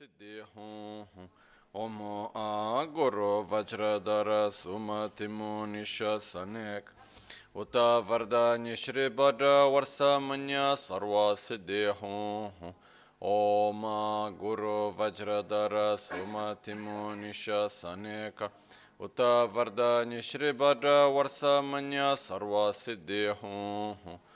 siddhi hum Om Guru Vajradhara Sumatimu Nishasanek Uta Vardhani Shri Bhadra Varsamanya Sarva Siddhi hum Om Guru Vajradhara Sumatimu Nishasanek Uta Vardhani Shri Bhadra Varsamanya Sarva Siddhi hum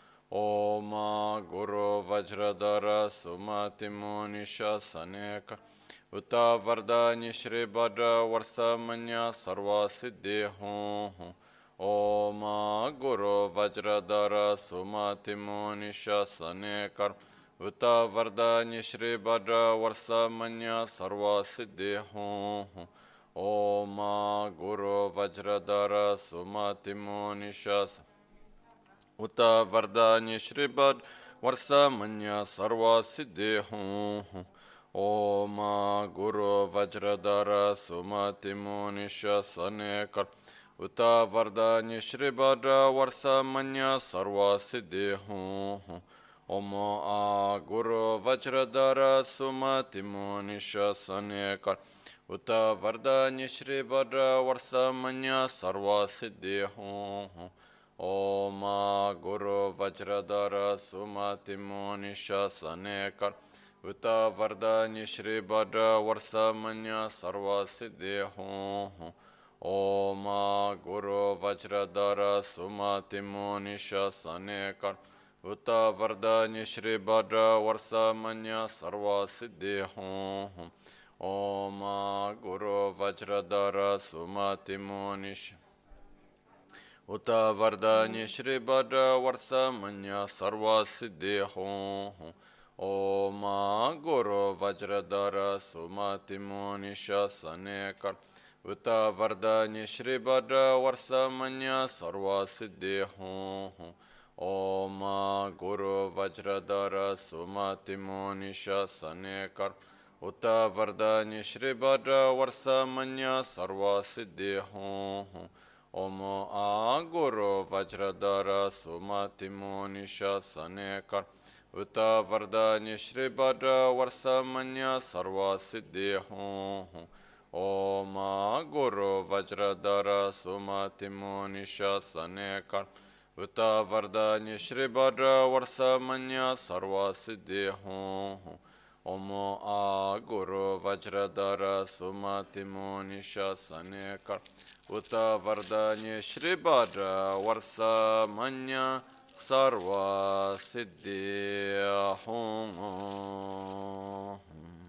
Om Guru Vajradhara Sumatimu Nishasanek Uta Vardhani Shri Bhadra Varsamanya Sarva Siddhi hum Om Guru Vajradhara Sumatimu Nishasanekar Uta Vardhani Shri Bhadra Varsamanya Sarva Siddhi hum Om Guru Vajradhara Sumatimu Nishas Uta Vardhani Shri Bhadra Varsamanya Sarva Siddhi hum Om Guru Vajradhara Sumatimu Nishasanekar Uta Vardhani Shri Bhadra Varsamanya Sarva Siddhi hum Om Guru Vajradhara Sumatimu Nishasanekar Uta Vardhani Shri Bhadra Varsamanya Sarva Siddhi hum Om Guru Vajradhara Sumatimu Nishasanekar Uta Vardhani Shri Bhadra Varsamanya Sarva Siddhi hum Om Guru Vajradhara Sumatimu Nishasanekar Uta Vardhani Shri Bhadra Varsamanya Sarva Siddhi hum Om Guru Vajradhara Sumatimu Nishasanekar Uta Vardhani Shri Bhadra Varsamanya Sarva Siddhi hum Om Guru Vajradhara Sumatimu Nishasanekar Uta Vardhani Shri Bhadra Varsamanya Sarva Siddhi hum Om Guru Vajradhara Sumatimu Nishasanekar Uta Vardhani Shri Bhadra Varsamanya Sarva Siddhi hum Om Guru Vajradhara Sumatimu Nishasanekar Uta Vardhani Shri Bhadra Varsamanya Sarva Siddhi hum Om Guru Vajradhara Sumatimu Nishasanekar Uta Vardhani Shri Bhadra Varsamanya Sarva Siddhi hum Om Guru Vajradhara Sumatimu Nishasanekar Uta Vardhani Shri Bhadra Varsamanya Sarva Siddhi hum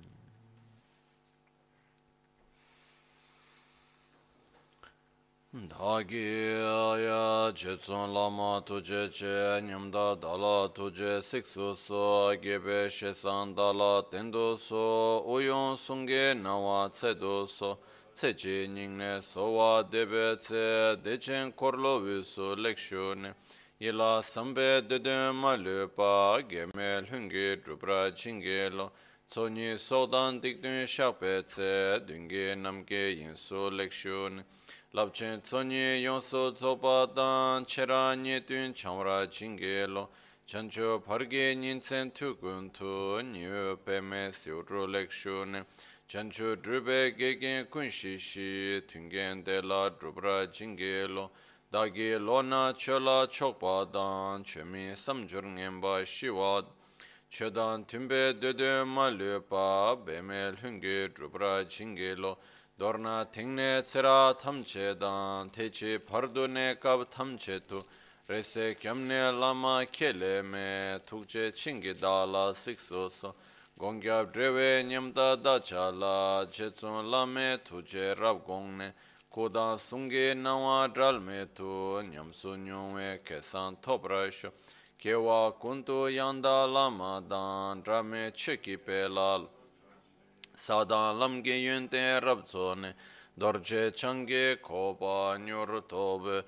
Dhagi ya Jetsun Lama Tuje Che Nyamda Dala Tuje Siksu So Gebe Shesan Dala Tendo So Uyon Sunge Nawa Tsedo So Tsechi Ningne Sowa Debe Tse Dechen Korlo Visu Lekshune Yila Sambe Dede Malupa Gemel Hungi Drupra Chingelo Tsoni Sodan Dikdun Shakpe Tse Dungi Namge Yinsu Lekshune Labchen Tsonyi Yonso Tsopa Dan Chera Nyetun Chamra Chingelo Chancho Parge Nyinsen Tukun Tu Nyu Peme Siudru Lekshune Chancho Drube Gegen Kunshishi Tungen De La Drubra Chingelo Dagi Lona Chola Chokpa Dan Chemi Samjur Ngemba Shiwad Chodan Tumbe Dede Malupa Bemel Hungi Drubra Chingelo Dorna Tingne Tsera Tamchedan Techi Pardune Kab Tamchetu Rese Kyamne Lama Kele Me Tukche Chingidala Siksoso Gongyab Drewe Nyamda Dachala Jetsun Lame Tuje Rabgongne Kudan Sungi Nawa Dralme Tu Nyamsu Nyungwe Kesan Tobrasho Kewa Kuntu Yanda Lama Dan Drame Cheki Pelal Sadan lamge yunte rabzone dorje change koba nyurtobe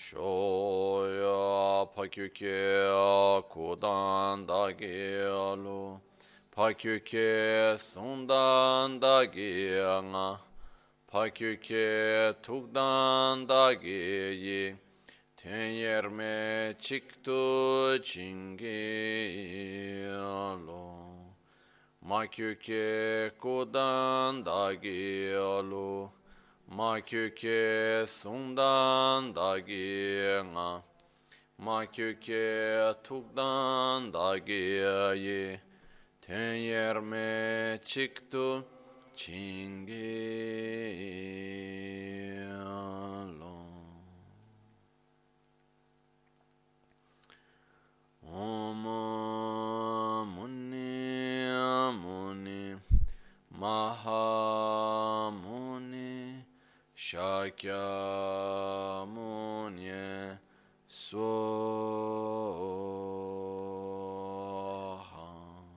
shoya pakyuke kudan dagi alu pakyuke sundan dagi anga pakyuke tukdan dagi yi tenyerme chiktu chingi alu Makyuke Kodan Dagi Alu Makyuke Sundan Dagi Nga Makyuke Tukdan Dagi Ye Tenyerme Chiktu Chingi Om Muni Muni Mahamuni Shakya Muni Swaha.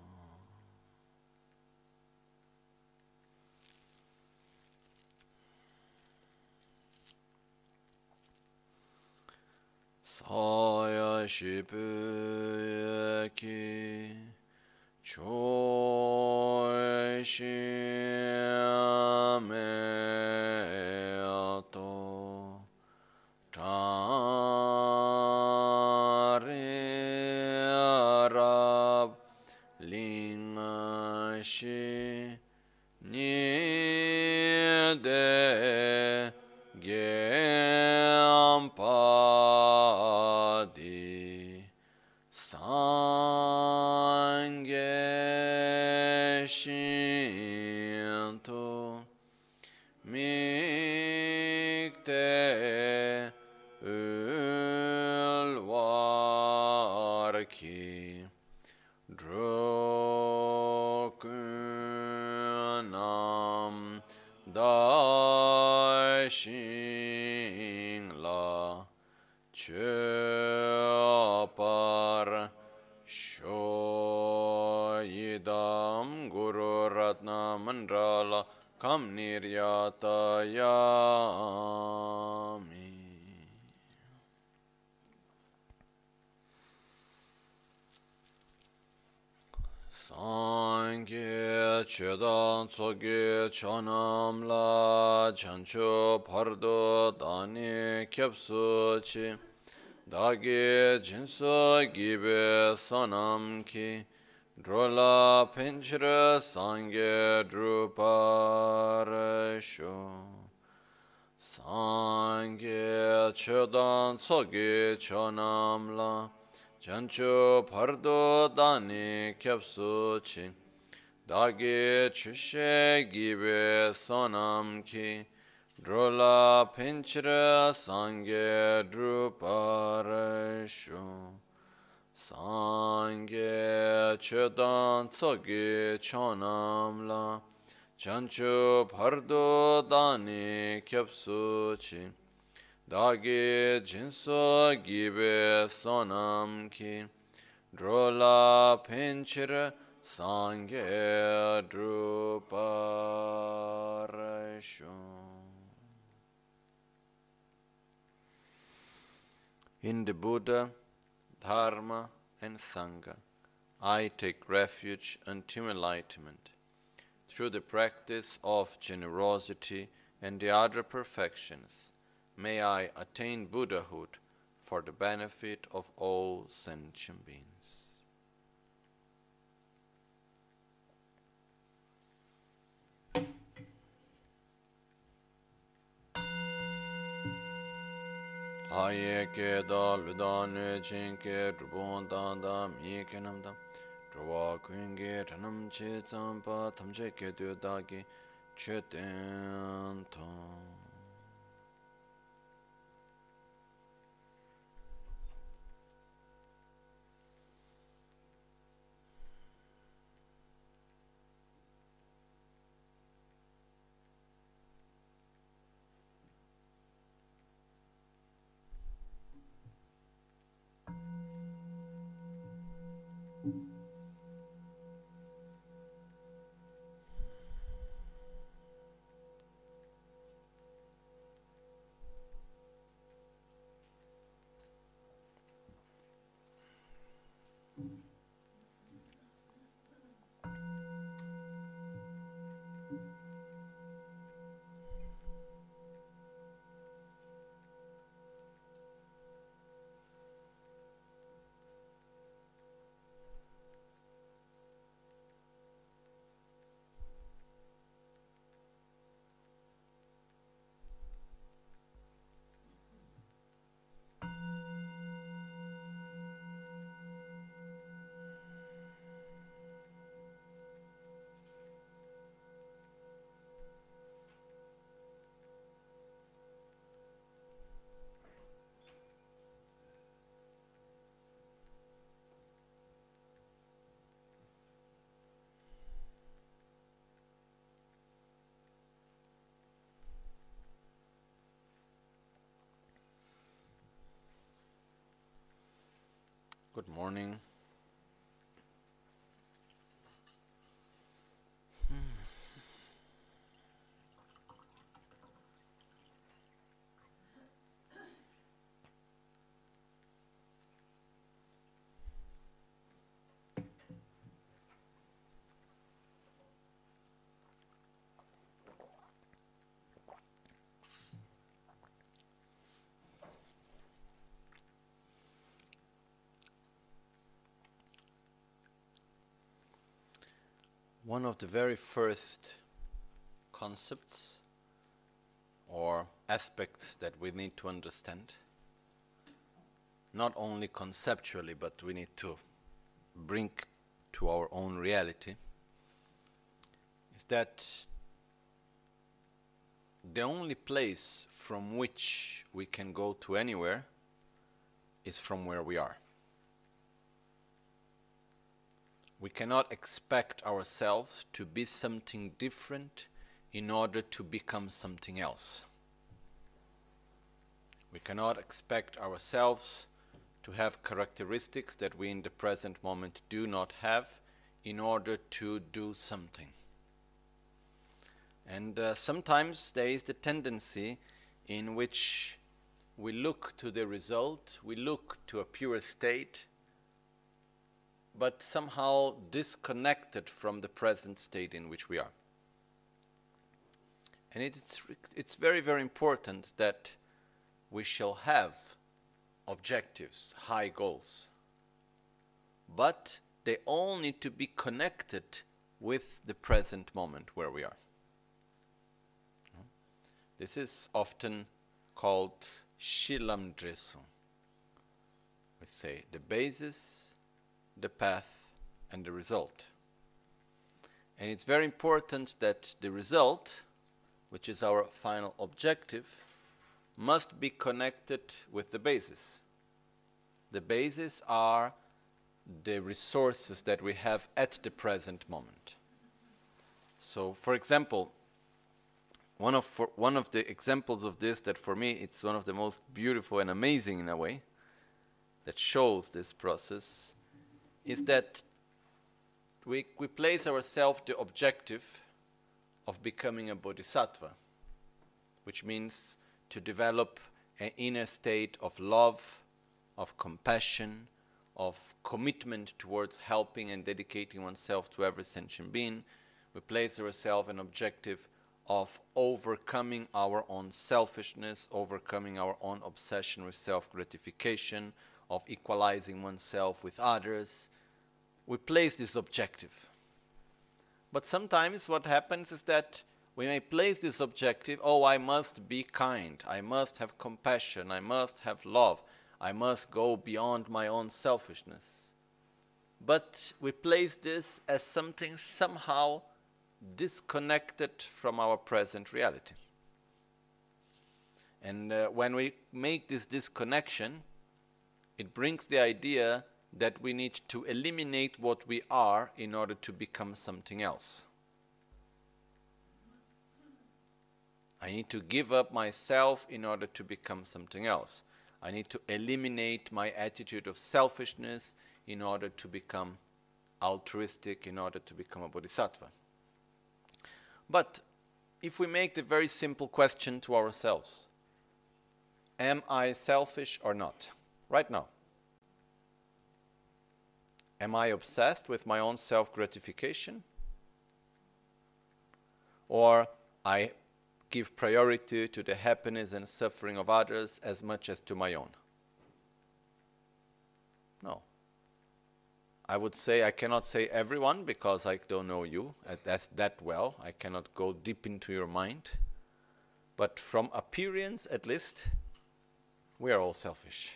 Saya Shibuyaki Choi Shimeato Tari Arab Lingashi Nide Gyampadi Sangye Shinto Mikte Ulwarki Drokunam Daishingla Chöpar Shoyidam Guru Ratna Mandrala Kam Niryatayami. Sangye Chedan Tsoge Chonam La Chancho Pardo Dani Kyapsu Chi Dagi Jinso Gibe Sonam Ki Drola Pinchra Sangye Druparasho Sangye Chedan Tsoge Chonam La Chancho Pardo Dani Kyapsu Chi Dagi Chishe Gibe Sonam Ki Drola Pinchra Sangye Druparasho Sangye Chedan Tsoge Chonam La Chancho Pardo Dani Kyapsu Chi Dagi Jinso Gibe Sonam Ki Drola Pinchira Sangye Druparasho. In the Buddha, Dharma and Sangha, I take refuge until enlightenment. Through the practice of generosity and the other perfections, may I attain Buddhahood for the benefit of all sentient beings. Aye ke da ludane chinke drupon da mi ke namdam drwa kuinge ranam che tsampa tamche ke tu dagi che ten ton. Good morning. One of the very first concepts or aspects that we need to understand, not only conceptually, but we need to bring to our own reality, is that the only place from which we can go to anywhere is from where we are. We cannot expect ourselves to be something different in order to become something else. We cannot expect ourselves to have characteristics that we in the present moment do not have in order to do something. And sometimes there is the tendency in which we look to the result, we look to a pure state, but somehow disconnected from the present state in which we are. And it's very, very important that we shall have objectives, high goals. But they all need to be connected with the present moment where we are. This is often called Shilam Dresu. We say the basis, the path, and the result. And it's very important that the result, which is our final objective, must be connected with the basis. The basis are the resources that we have at the present moment. So, for example, one of the examples of this that for me it's one of the most beautiful and amazing in a way that shows this process is that we place ourselves the objective of becoming a bodhisattva, which means to develop an inner state of love, of compassion, of commitment towards helping and dedicating oneself to every sentient being. We place ourselves an objective of overcoming our own selfishness, overcoming our own obsession with self-gratification, of equalizing oneself with others. We place this objective. But sometimes what happens is that we may place this objective, oh, I must be kind, I must have compassion, I must have love, I must go beyond my own selfishness. But we place this as something somehow disconnected from our present reality. And when we make this disconnection, it brings the idea that we need to eliminate what we are in order to become something else. I need to give up myself in order to become something else. I need to eliminate my attitude of selfishness in order to become altruistic, in order to become a bodhisattva. But if we make the very simple question to ourselves, am I selfish or not? Right now. Am I obsessed with my own self-gratification? Or I give priority to the happiness and suffering of others as much as to my own? No. I would say, I cannot say everyone because I don't know you that well. I cannot go deep into your mind. But from appearance, at least, we are all selfish.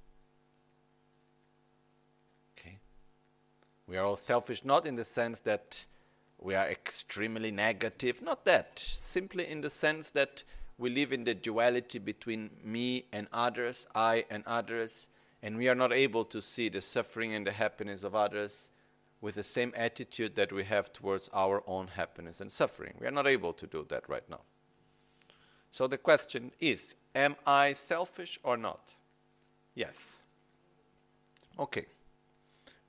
Okay? We are all selfish not in the sense that we are extremely negative, not that. Simply in the sense that we live in the duality between me and others, I and others, and we are not able to see the suffering and the happiness of others with the same attitude that we have towards our own happiness and suffering. We are not able to do that right now. So the question is, am I selfish or not? Yes. Okay.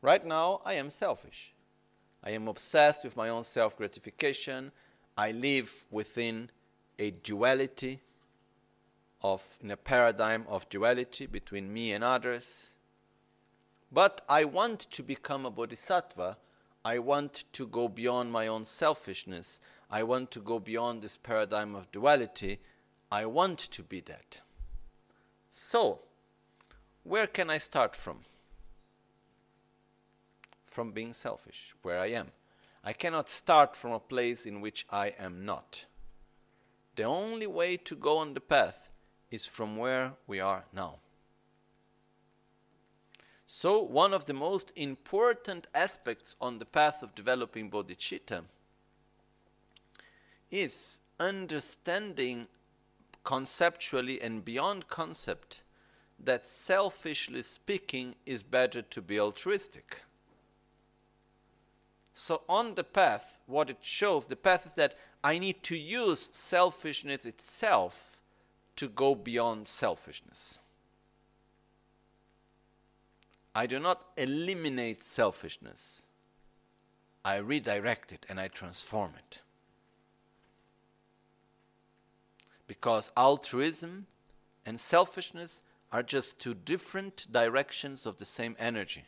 Right now, I am selfish. I am obsessed with my own self-gratification. I live within a duality in a paradigm of duality between me and others. But I want to become a bodhisattva. I want to go beyond my own selfishness. I want to go beyond this paradigm of duality. I want to be that. So, where can I start from? From being selfish, where I am. I cannot start from a place in which I am not. The only way to go on the path is from where we are now. So, one of the most important aspects on the path of developing bodhicitta is understanding conceptually and beyond concept that selfishly speaking is better to be altruistic. So on the path, what it shows, the path is that I need to use selfishness itself to go beyond selfishness. I do not eliminate selfishness. I redirect it and I transform it. Because altruism and selfishness are just two different directions of the same energy.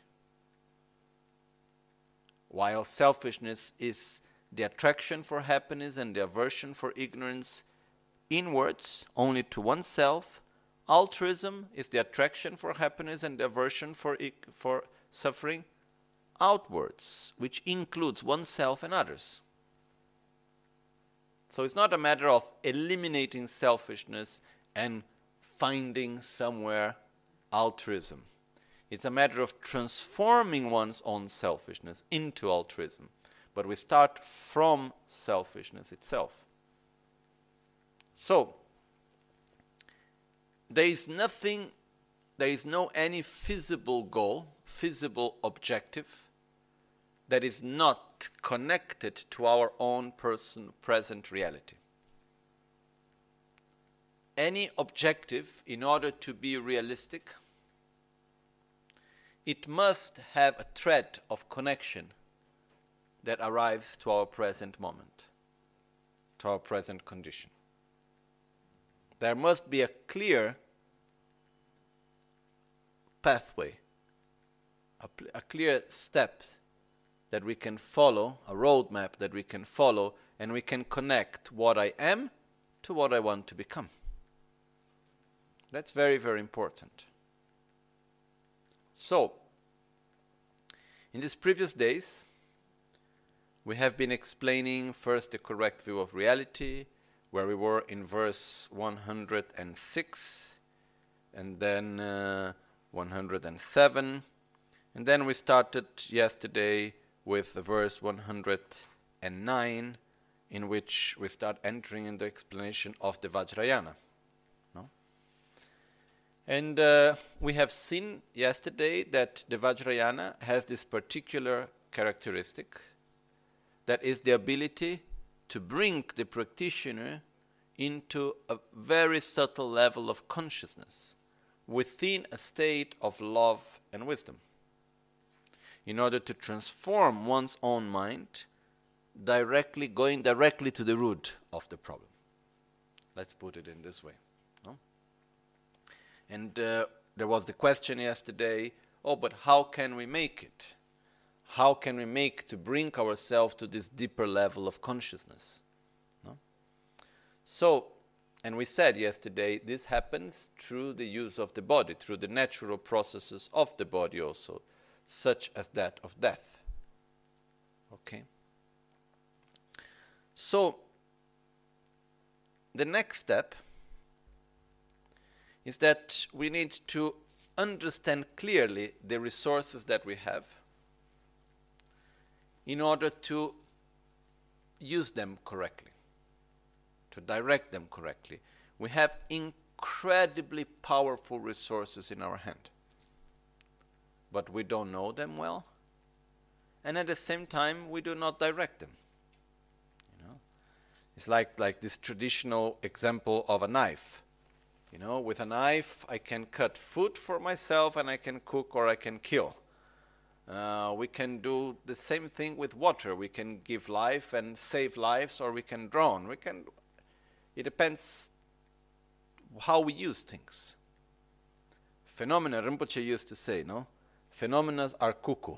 While selfishness is the attraction for happiness and the aversion for ignorance inwards, only to oneself, altruism is the attraction for happiness and the aversion for suffering outwards, which includes oneself and others. So it's not a matter of eliminating selfishness and finding somewhere altruism. It's a matter of transforming one's own selfishness into altruism. But we start from selfishness itself. So, there is no any feasible goal, feasible objective that is not connected to our own present reality. Any objective, in order to be realistic, it must have a thread of connection that arrives to our present moment, to our present condition. There must be a clear pathway, a clear step that we can follow, a roadmap that we can follow, and we can connect what I am to what I want to become. That's very, very important. So, in these previous days, we have been explaining first the correct view of reality, where we were in verse 106, and then 107, and then we started yesterday with verse 109, in which we start entering in the explanation of the Vajrayana. No? And we have seen yesterday that the Vajrayana has this particular characteristic, that is the ability to bring the practitioner into a very subtle level of consciousness within a state of love and wisdom, in order to transform one's own mind, going directly to the root of the problem. Let's put it in this way. No? And there was the question yesterday, but how can we make it? How can we make to bring ourselves to this deeper level of consciousness? No? So, and we said yesterday, this happens through the use of the body, through the natural processes of the body also, such as that of death. Okay? So, the next step is that we need to understand clearly the resources that we have in order to use them correctly, to direct them correctly. We have incredibly powerful resources in our hand, but we don't know them well, and at the same time we do not direct them. You know, it's like this traditional example of a knife. You know, with a knife I can cut food for myself and I can cook or I can kill. We can do the same thing with water. We can give life and save lives, or we can drown. It depends how we use things. Phenomena, Rinpoche used to say, no? Phenomena are cuckoo.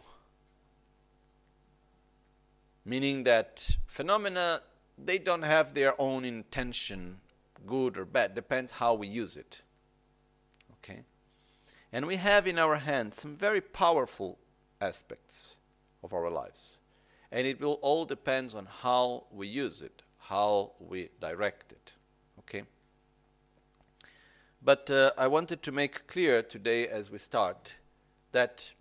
Meaning that phenomena, they don't have their own intention, good or bad. Depends how we use it. Okay? And we have in our hands some very powerful aspects of our lives. And it will all depend on how we use it, how we direct it. Okay? But I wanted to make clear today as we start that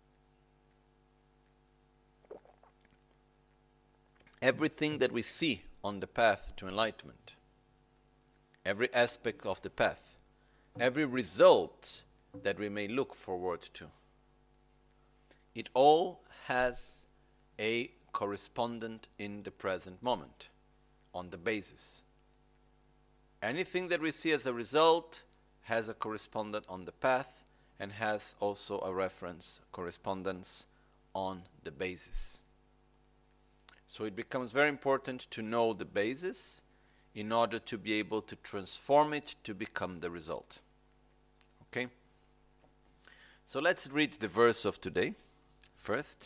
everything that we see on the path to enlightenment, every aspect of the path, every result that we may look forward to, it all has a correspondent in the present moment, on the basis. Anything that we see as a result has a correspondent on the path and has also a reference, correspondence on the basis. So it becomes very important to know the basis in order to be able to transform it to become the result. Okay? So let's read the verse of today first.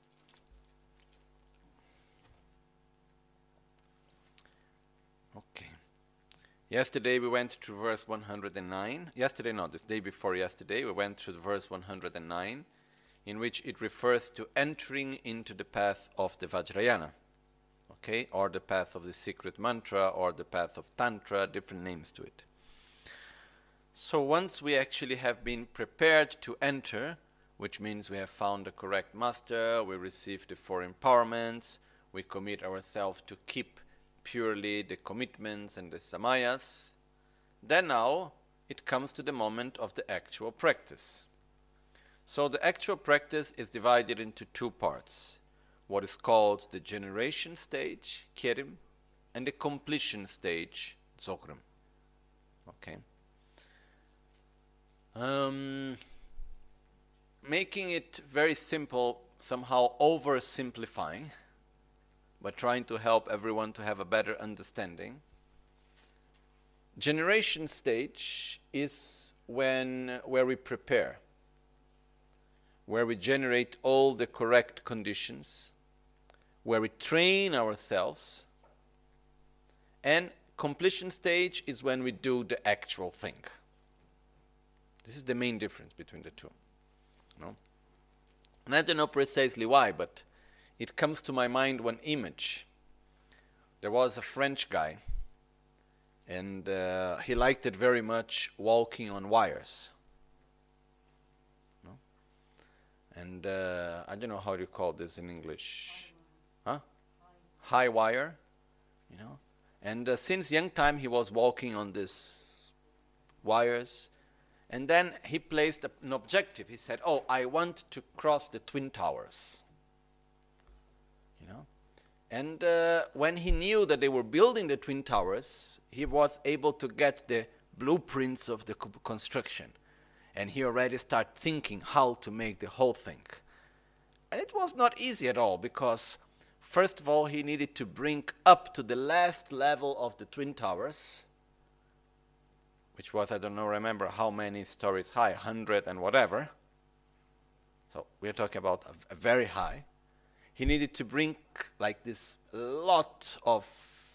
Okay. Yesterday we went to verse 109. Yesterday, no, the day before yesterday, we went to verse 109, in which it refers to entering into the path of the Vajrayana, okay, or the path of the secret mantra, or the path of Tantra, different names to it. So once we actually have been prepared to enter, which means we have found the correct master, we receive the four empowerments, we commit ourselves to keep purely the commitments and the samayas, then now it comes to the moment of the actual practice. So the actual practice is divided into two parts. What is called the generation stage, Kerim, and the completion stage, Dzogchen. Okay. Making it very simple, somehow oversimplifying, but trying to help everyone to have a better understanding. Generation stage is where we prepare, where we generate all the correct conditions, where we train ourselves, and completion stage is when we do the actual thing. This is the main difference between the two. No? And I don't know precisely why, but it comes to my mind one image. There was a French guy, and he liked it very much, walking on wires. No? And I don't know how you call this in English. Huh? High wire, you know. And since young time he was walking on these wires. And then he placed an objective. He said, oh, I want to cross the Twin Towers. You know? And when he knew that they were building the Twin Towers, he was able to get the blueprints of the construction. And he already started thinking how to make the whole thing. And it was not easy at all, because first of all, he needed to bring up to the last level of the Twin Towers, which was, I don't know, remember how many stories high, 100 and whatever. So we're talking about a very high. He needed to bring like this lot of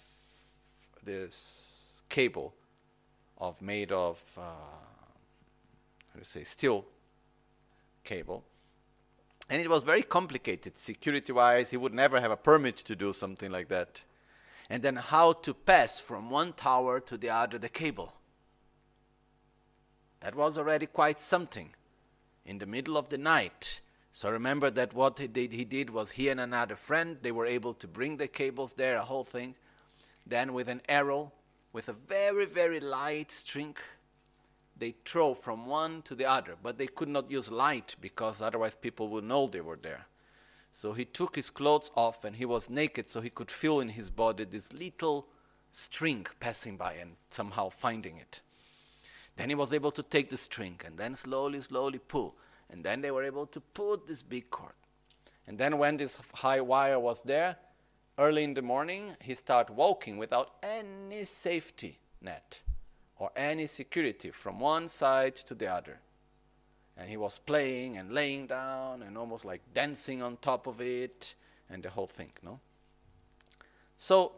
this cable made of, steel cable. And it was very complicated, security-wise. He would never have a permit to do something like that. And then how to pass from one tower to the other the cable. That was already quite something. In the middle of the night. So remember that what he did was he and another friend, they were able to bring the cables there, a whole thing. Then with an arrow, with a very, very light string, they throw from one to the other. But they could not use light, because otherwise people would know they were there. So he took his clothes off and he was naked, so he could feel in his body this little string passing by and somehow finding it. Then he was able to take the string and then slowly, slowly pull. And then they were able to put this big cord. And then when this high wire was there, early in the morning, he started walking without any safety net or any security from one side to the other. And he was playing and laying down and almost like dancing on top of it and the whole thing, no? So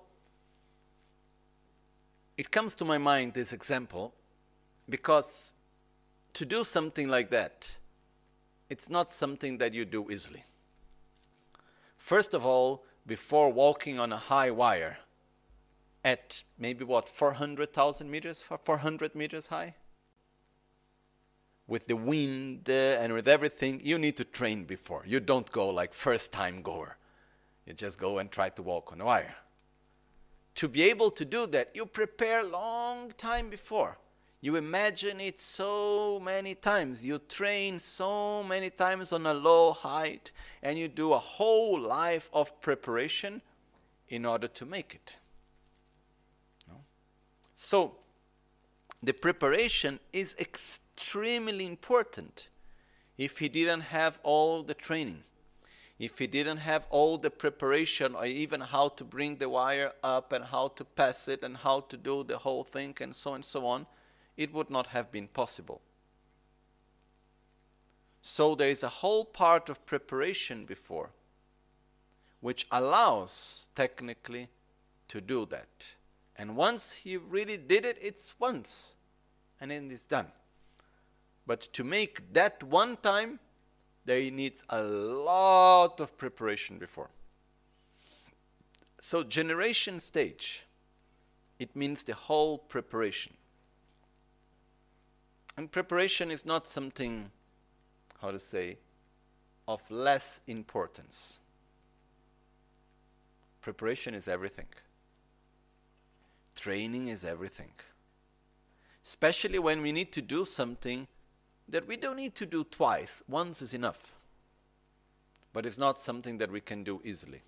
it comes to my mind, this example, because to do something like that, it's not something that you do easily. First of all, before walking on a high wire at maybe 400,000 meters, 400 meters high, with the wind and with everything, you need to train before. You don't go like first time goer. You just go and try to walk on a wire. To be able to do that, you prepare long time before. You imagine it so many times. You train so many times on a low height, and you do a whole life of preparation in order to make it. No? So, the preparation is extremely important. If he didn't have all the training, if he didn't have all the preparation, or even how to bring the wire up and how to pass it and how to do the whole thing and so on, it would not have been possible. So there is a whole part of preparation before, which allows technically to do that. And once he really did it, it's once, and then it's done. But to make that one time, there needs a lot of preparation before. So generation stage, it means the whole preparation. And preparation is not something, how to say, of less importance. Preparation is everything. Training is everything. Especially when we need to do something that we don't need to do twice. Once is enough. But it's not something that we can do easily.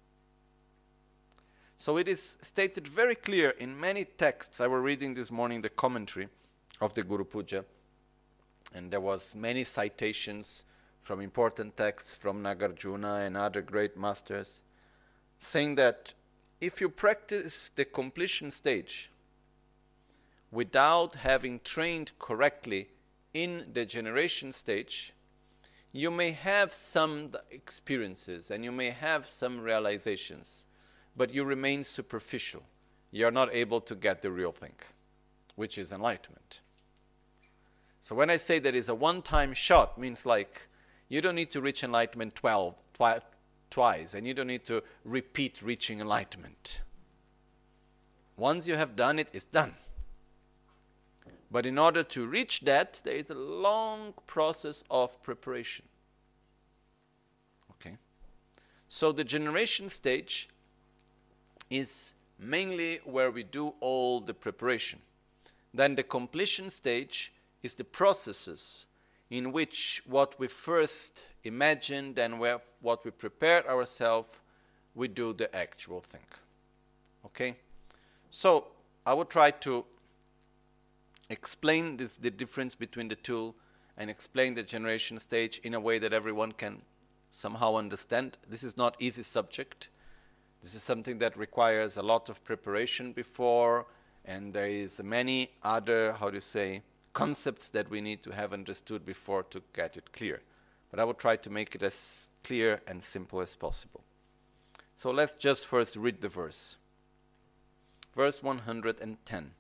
So it is stated very clear in many texts. I was reading this morning the commentary of the Guru Puja, and there was many citations from important texts from Nagarjuna and other great masters, saying that if you practice the completion stage without having trained correctly in the generation stage, you may have some experiences and you may have some realizations, but you remain superficial. You are not able to get the real thing, which is enlightenment. So when I say that it's a one-time shot, means like you don't need to reach enlightenment twice, and you don't need to repeat reaching enlightenment. Once you have done it, it's done. But in order to reach that, there is a long process of preparation. Okay? So the generation stage is mainly where we do all the preparation. Then the completion stage is the processes in which what we first imagined and what we prepared ourselves, we do the actual thing. Okay? So I will try to explain the difference between the two and explain the generation stage in a way that everyone can somehow understand. This is not easy subject. This is something that requires a lot of preparation before, and there is many other, concepts that we need to have understood before to get it clear. But I will try to make it as clear and simple as possible. So let's just first read the verse. Verse 110.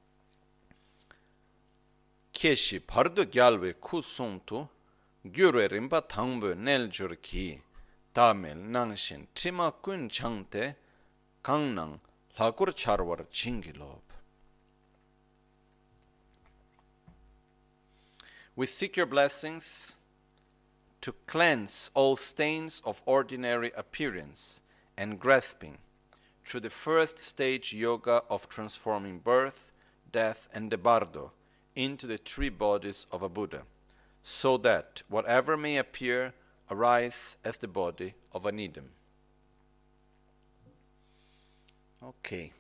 Keshi pardo gyalwe kusungtu gyure rimba thangbu neljur ki tamil nangshin trima kun changte kangnang lakur charwar chingilob. We seek your blessings to cleanse all stains of ordinary appearance and grasping through the first stage yoga of transforming birth, death, and the bardo into the three bodies of a Buddha, so that whatever may appear arise as the body of an Idam. Okay.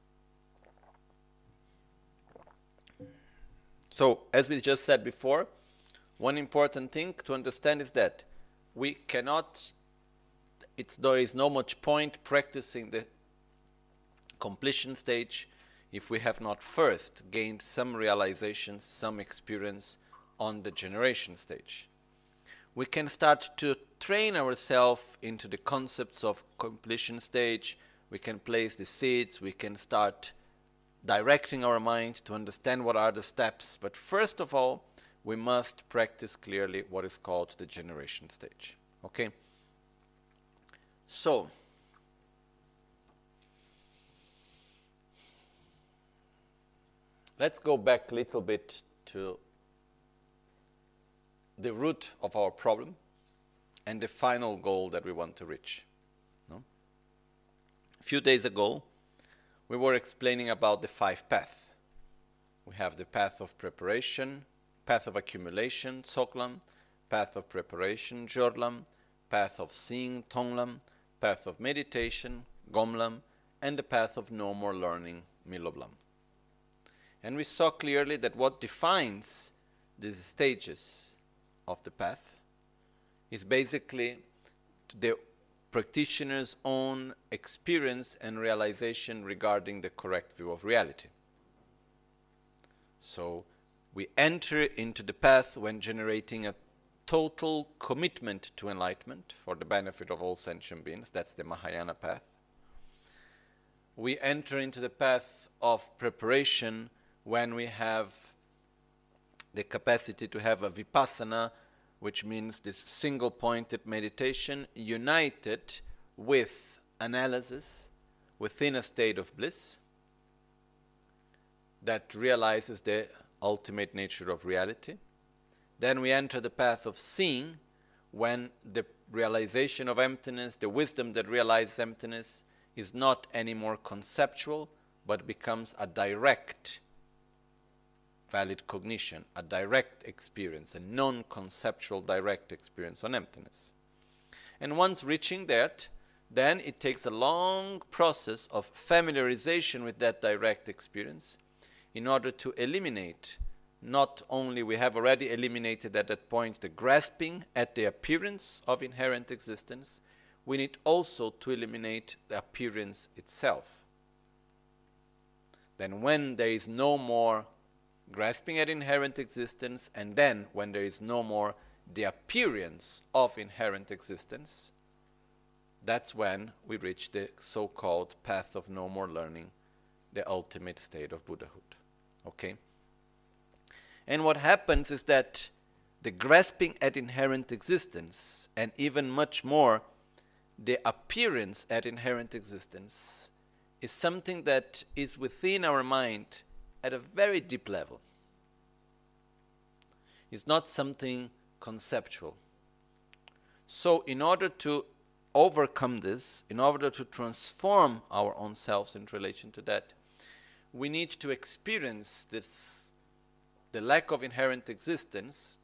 So, as we just said before, one important thing to understand is that we cannot, there is no much point practicing the completion stage if we have not first gained some realizations, some experience on the generation stage. We can start to train ourselves into the concepts of completion stage. We can place the seeds, we can start directing our mind to understand what are the steps. But first of all, we must practice clearly what is called the generation stage. Okay? So, let's go back a little bit to the root of our problem and the final goal that we want to reach. No? A few days ago, we were explaining about the 5 paths. We have the path of preparation, path of accumulation, Tsoklam, path of preparation, Jorlam, path of seeing, Tonglam, path of meditation, Gomlam, and the path of no more learning, Miloblam. And we saw clearly that what defines these stages of the path is basically the practitioner's own experience and realization regarding the correct view of reality. So we enter into the path when generating a total commitment to enlightenment for the benefit of all sentient beings. That's the Mahayana path. We enter into the path of preparation when we have the capacity to have a vipassana, which means this single-pointed meditation united with analysis within a state of bliss that realizes the ultimate nature of reality. Then we enter the path of seeing when the realization of emptiness, the wisdom that realizes emptiness, is not anymore conceptual, but becomes a direct valid cognition, a direct experience, a non-conceptual direct experience on emptiness. And once reaching that, then it takes a long process of familiarization with that direct experience in order to eliminate, not only we have already eliminated at that point the grasping at the appearance of inherent existence, we need also to eliminate the appearance itself. Then when there is no more grasping at inherent existence, and then when there is no more the appearance of inherent existence, that's when we reach the so-called path of no more learning, the ultimate state of Buddhahood. Okay? And what happens is that the grasping at inherent existence, and even much more the appearance at inherent existence, is something that is within our mind at a very deep level. It's not something conceptual. So in order to overcome this, in order to transform our own selves in relation to that, we need to experience this, the lack of inherent existence,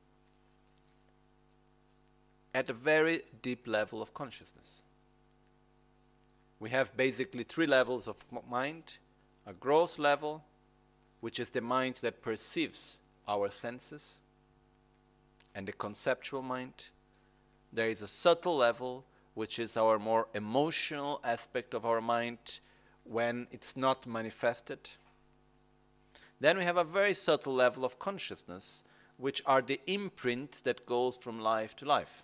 at a very deep level of consciousness. We have basically 3 levels of mind: a gross level, which is the mind that perceives our senses, and the conceptual mind. There is a subtle level, which is our more emotional aspect of our mind when it's not manifested. Then we have a very subtle level of consciousness, which are the imprints that goes from life to life.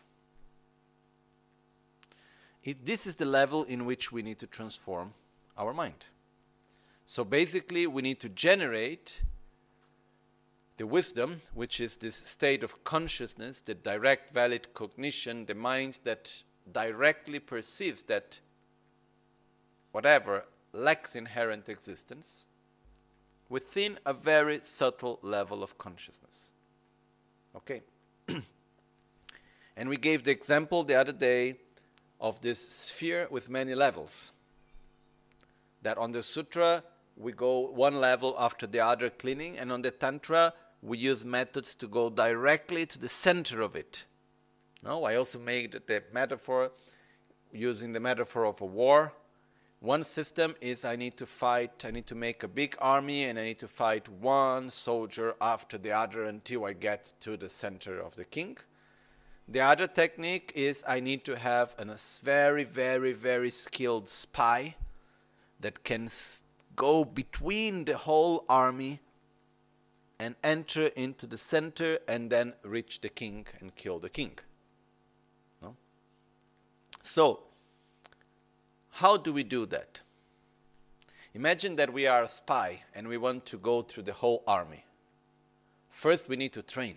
This is the level in which we need to transform our mind. So basically, we need to generate the wisdom, which is this state of consciousness, the direct valid cognition, the mind that directly perceives that whatever lacks inherent existence within a very subtle level of consciousness. Okay? And we gave the example the other day of this sphere with many levels. That on the sutra, we go one level after the other cleaning, and on the tantra, we use methods to go directly to the center of it. No, I also made the metaphor, using the metaphor of a war, One system is I need to make a big army and I need to fight one soldier after the other until I get to the center of the king. The other technique is I need to have a very, very, very skilled spy that can go between the whole army and enter into the center and then reach the king and kill the king. No? So, how do we do that? Imagine that we are a spy and we want to go through the whole army. First, we need to train.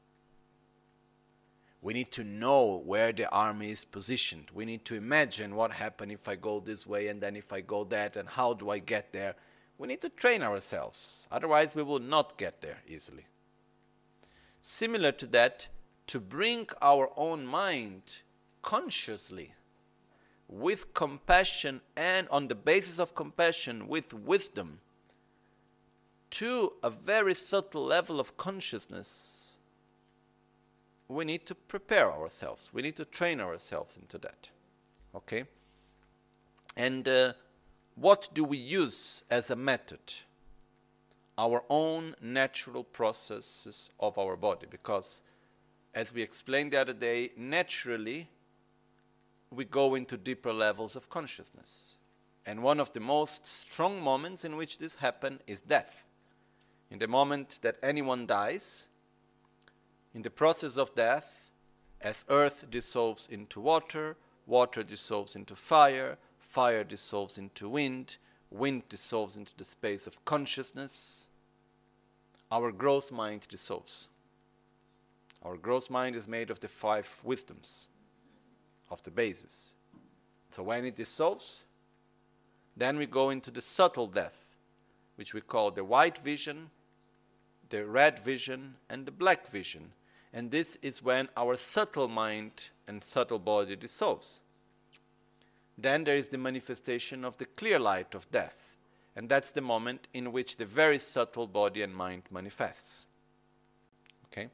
We need to know where the army is positioned. We need to imagine what happens if I go this way and then if I go that and how do I get there. We need to train ourselves. Otherwise, we will not get there easily. Similar to that, to bring our own mind consciously, with compassion and on the basis of compassion, with wisdom, to a very subtle level of consciousness, we need to prepare ourselves. We need to train ourselves into that. Okay? And what do we use as a method? Our own natural processes of our body. Because, as we explained the other day, naturally, we go into deeper levels of consciousness. And one of the most strong moments in which this happens is death. In the moment that anyone dies, in the process of death, as earth dissolves into water, water dissolves into fire, fire dissolves into wind, wind dissolves into the space of consciousness, our gross mind dissolves. Our gross mind is made of the 5 wisdoms, of the basis. So when it dissolves, then we go into the subtle death, which we call the white vision, the red vision, and the black vision. And this is when our subtle mind and subtle body dissolves. Then there is the manifestation of the clear light of death. And that's the moment in which the very subtle body and mind manifests. Okay?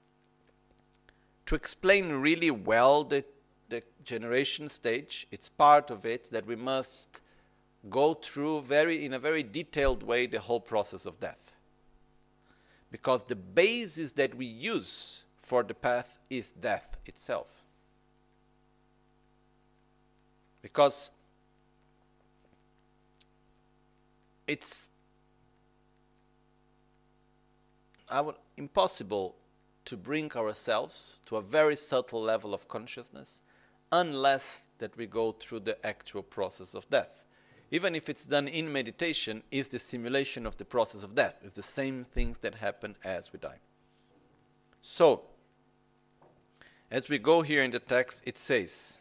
To explain really well the generation stage, it's part of it that we must go through in a very detailed way the whole process of death. Because the basis that we use for the path is death itself. Because it's impossible to bring ourselves to a very subtle level of consciousness unless that we go through the actual process of death. Even if it's done in meditation, is the simulation of the process of death. It's the same things that happen as we die. So, as we go here in the text, it says,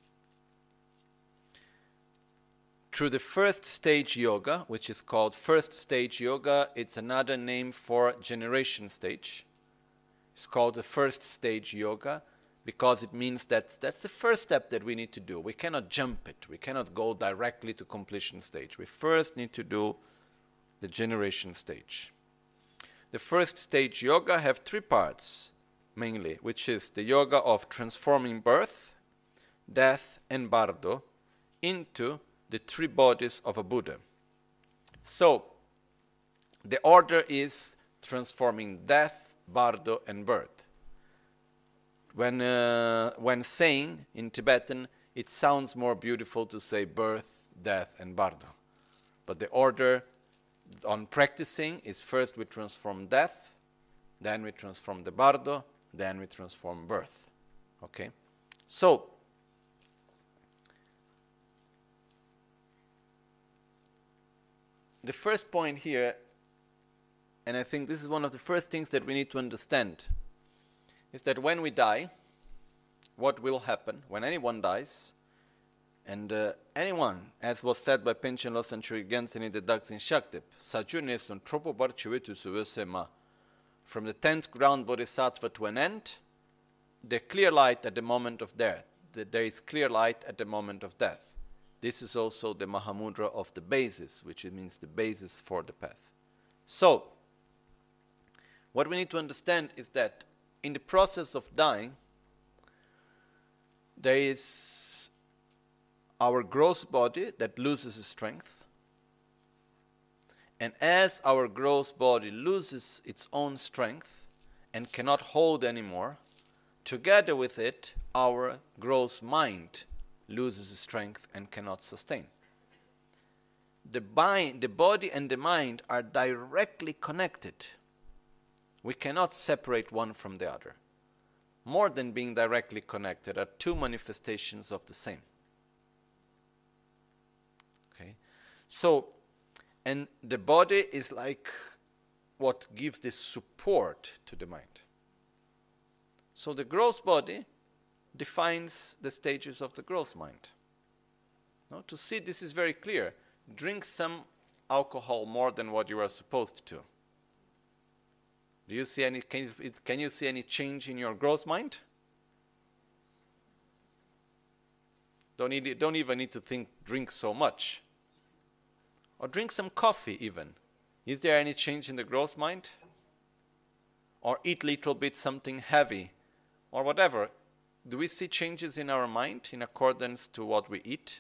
through the first stage yoga, which is called first stage yoga, it's another name for generation stage. It's called the first stage yoga because it means that that's the first step that we need to do. We cannot jump it. We cannot go directly to completion stage. We first need to do the generation stage. The first stage yoga have 3 parts, mainly, which is the yoga of transforming birth, death, and bardo into the 3 bodies of a Buddha. So, the order is transforming death, bardo, and birth. When saying in Tibetan, it sounds more beautiful to say birth, death, and bardo. But the order on practicing is first we transform death, then we transform the bardo, then we transform birth. Okay? So, the first point here, and I think this is one of the first things that we need to understand, is that when we die, what will happen when anyone dies, and anyone, as was said by Panchen Losang Chögyenten in the Daksin Shaktip, Sajune sun tropo bar chivetu suvesema, from the 10th ground bodhisattva to an end, the clear light at the moment of death. There is clear light at the moment of death. This is also the Mahamudra of the basis, which means the basis for the path. So, what we need to understand is that in the process of dying, there is our gross body that loses its strength. And as our gross body loses its own strength and cannot hold anymore, together with it, our gross mind loses its strength and cannot sustain. The body and the mind are directly connected. We cannot separate one from the other. More than being directly connected, are two manifestations of the same. Okay? So, and the body is like what gives the support to the mind. So the gross body defines the stages of the gross mind. Now, to see this is very clear. Drink some alcohol more than what you are supposed to. Do you see any? Can you see any change in your gross mind? Don't even need to drink so much. Or drink some coffee even. Is there any change in the gross mind? Or eat little bit something heavy or whatever. Do we see changes in our mind in accordance to what we eat?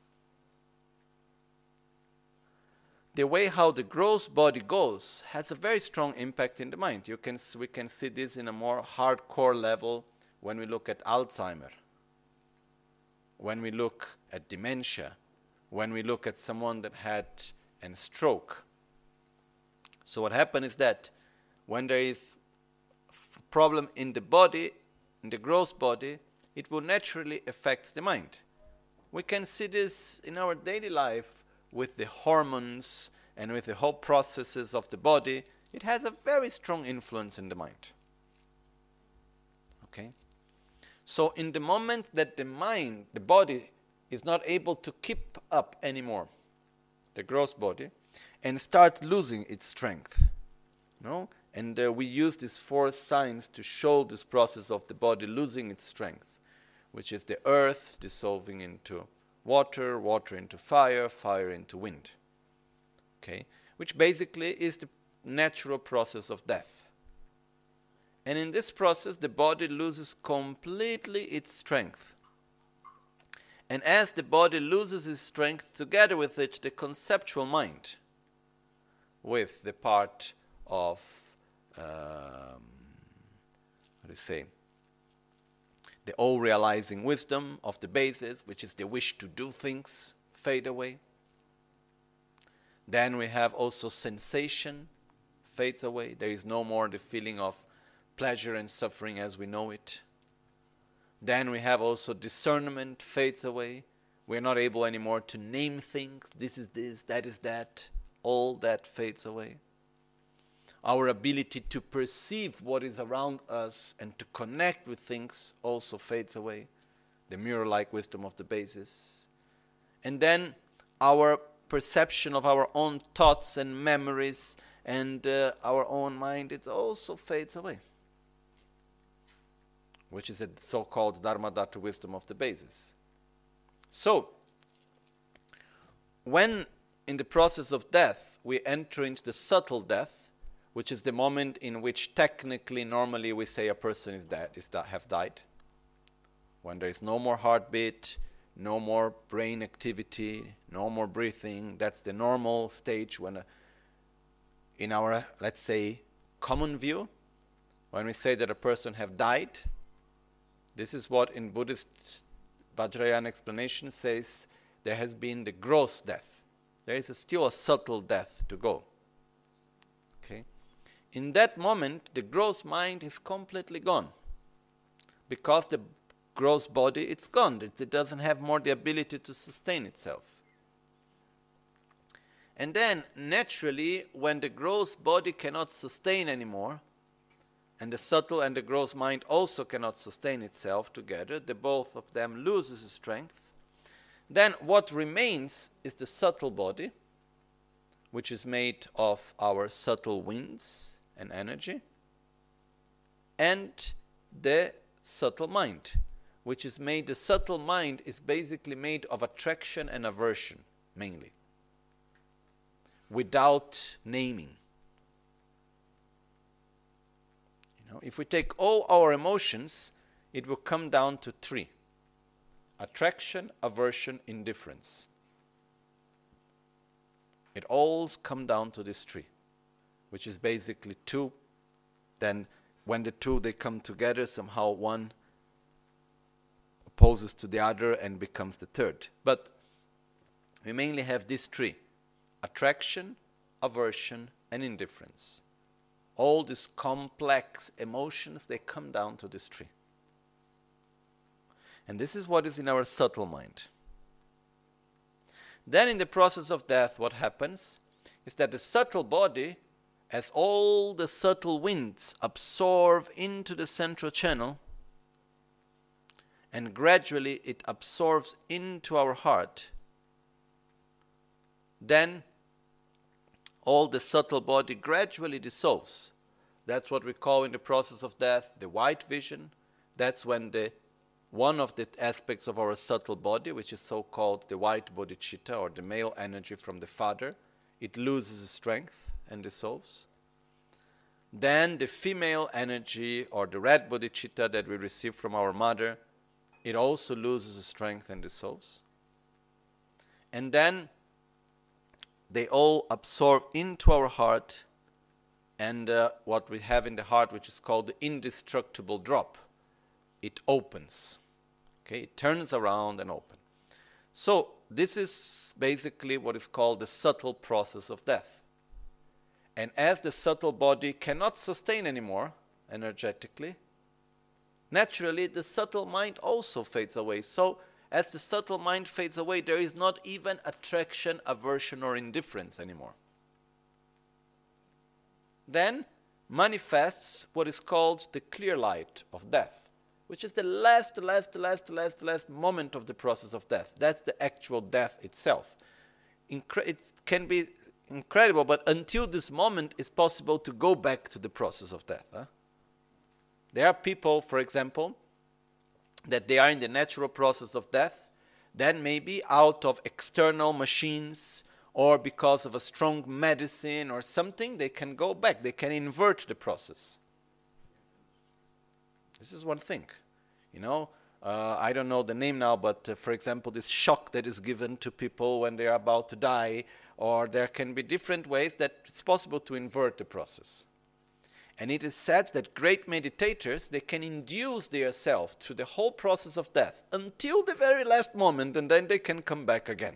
The way how the gross body goes has a very strong impact in the mind. We can see this in a more hardcore level when we look at Alzheimer, when we look at dementia, when we look at someone that had a stroke. So what happens is that when there is a problem in the body, in the gross body, it will naturally affect the mind. We can see this in our daily life with the hormones and with the whole processes of the body. It has a very strong influence in the mind. Okay? So in the moment that the mind, the body, is not able to keep up anymore, the gross body, and start losing its strength, no? And we use these 4 signs to show this process of the body losing its strength, which is the earth dissolving into water, water into fire, fire into wind. Okay? Which basically is the natural process of death. And in this process, the body loses completely its strength. And as the body loses its strength, together with it, the conceptual mind, with the part of, the all-realizing wisdom of the basis, which is the wish to do things, fade away. Then we have also sensation, fades away. There is no more the feeling of pleasure and suffering as we know it. Then we have also discernment, fades away. We're not able anymore to name things. This is this, that is that. All that fades away. Our ability to perceive what is around us and to connect with things also fades away. The mirror-like wisdom of the basis. And then our perception of our own thoughts and memories and our own mind, it also fades away. Which is a so-called Dharmadhatu wisdom of the basis. So, when in the process of death we enter into the subtle death, which is the moment in which technically, normally we say a person is dead, have died. When there is no more heartbeat, no more brain activity, no more breathing, that's the normal stage when, in our, let's say, common view, when we say that a person have died. This is what in Buddhist Vajrayana explanation says there has been the gross death. There is still a subtle death to go. Okay? In that moment, the gross mind is completely gone. Because the gross body, it's gone. It doesn't have more the ability to sustain itself. And then, naturally, when the gross body cannot sustain anymore, and the subtle and the gross mind also cannot sustain itself together, the both of them loses strength, then what remains is the subtle body, which is made of our subtle winds and energy, and the subtle mind, which is made, the subtle mind is basically made of attraction and aversion, mainly, without naming. If we take all our emotions, it will come down to 3. attraction, aversion, indifference. It all comes down to this tree, which is basically two. Then when the two, they come together, somehow one opposes to the other and becomes the third. But we mainly have these three: attraction, aversion, and indifference. All these complex emotions, they come down to this tree. And this is what is in our subtle mind. Then in the process of death, what happens is that the subtle body, as all the subtle winds absorb into the central channel, and gradually it absorbs into our heart, then all the subtle body gradually dissolves. That's what we call in the process of death the white vision. That's when one of the aspects of our subtle body, which is so-called the white bodhicitta, or the male energy from the father, it loses strength and dissolves. Then the female energy, or the red bodhicitta that we receive from our mother, it also loses strength and dissolves. And then they all absorb into our heart, and what we have in the heart, which is called the indestructible drop, it opens. Okay, it turns around and opens. So this is basically what is called the subtle process of death. And as the subtle body cannot sustain anymore energetically, naturally the subtle mind also fades away. So as the subtle mind fades away, there is not even attraction, aversion, or indifference anymore. Then manifests what is called the clear light of death, which is the last moment of the process of death. That's the actual death itself. It can be incredible, but until this moment, it's possible to go back to the process of death. There are people, for example, that they are in the natural process of death, then maybe out of external machines or because of a strong medicine or something, they can go back. They can invert the process. This is one thing. I don't know the name now, but for example, this shock that is given to people when they are about to die, or there can be different ways that it's possible to invert the process. And it is said that great meditators, they can induce themselves through the whole process of death until the very last moment, and then they can come back again.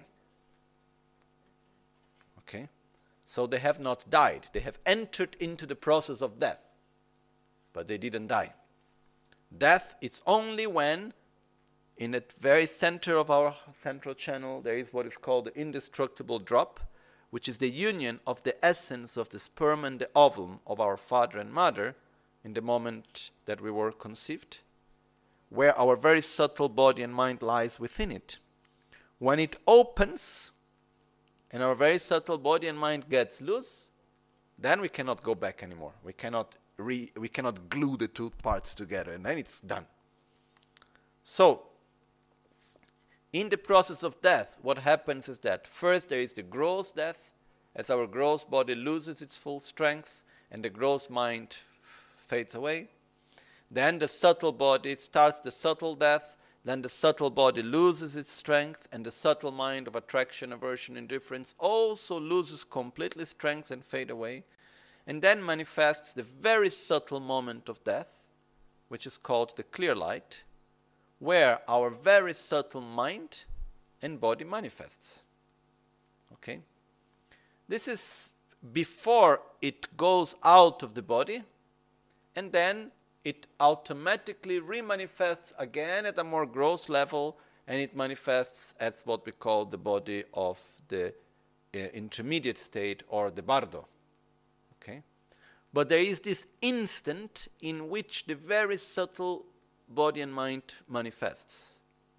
Okay? So they have not died. They have entered into the process of death, but they didn't die. Death, it's only when, in the very center of our central channel, there is what is called the indestructible drop, which is the union of the essence of the sperm and the ovum of our father and mother in the moment that we were conceived, where our very subtle body and mind lies within it. When it opens and our very subtle body and mind gets loose, then we cannot go back anymore. We cannot glue the two parts together, and then it's done. So, in the process of death, what happens is that first there is the gross death, as our gross body loses its full strength and the gross mind fades away. Then the subtle body, it starts the subtle death, then the subtle body loses its strength, and the subtle mind of attraction, aversion, indifference also loses completely strength and fade away. And then manifests the very subtle moment of death, which is called the clear light, where our very subtle mind and body manifests. Okay? This is before it goes out of the body, and then it automatically remanifests again at a more gross level, and it manifests as what we call the body of the intermediate state, or the bardo. Okay? But there is this instant in which the very subtle body and mind manifests,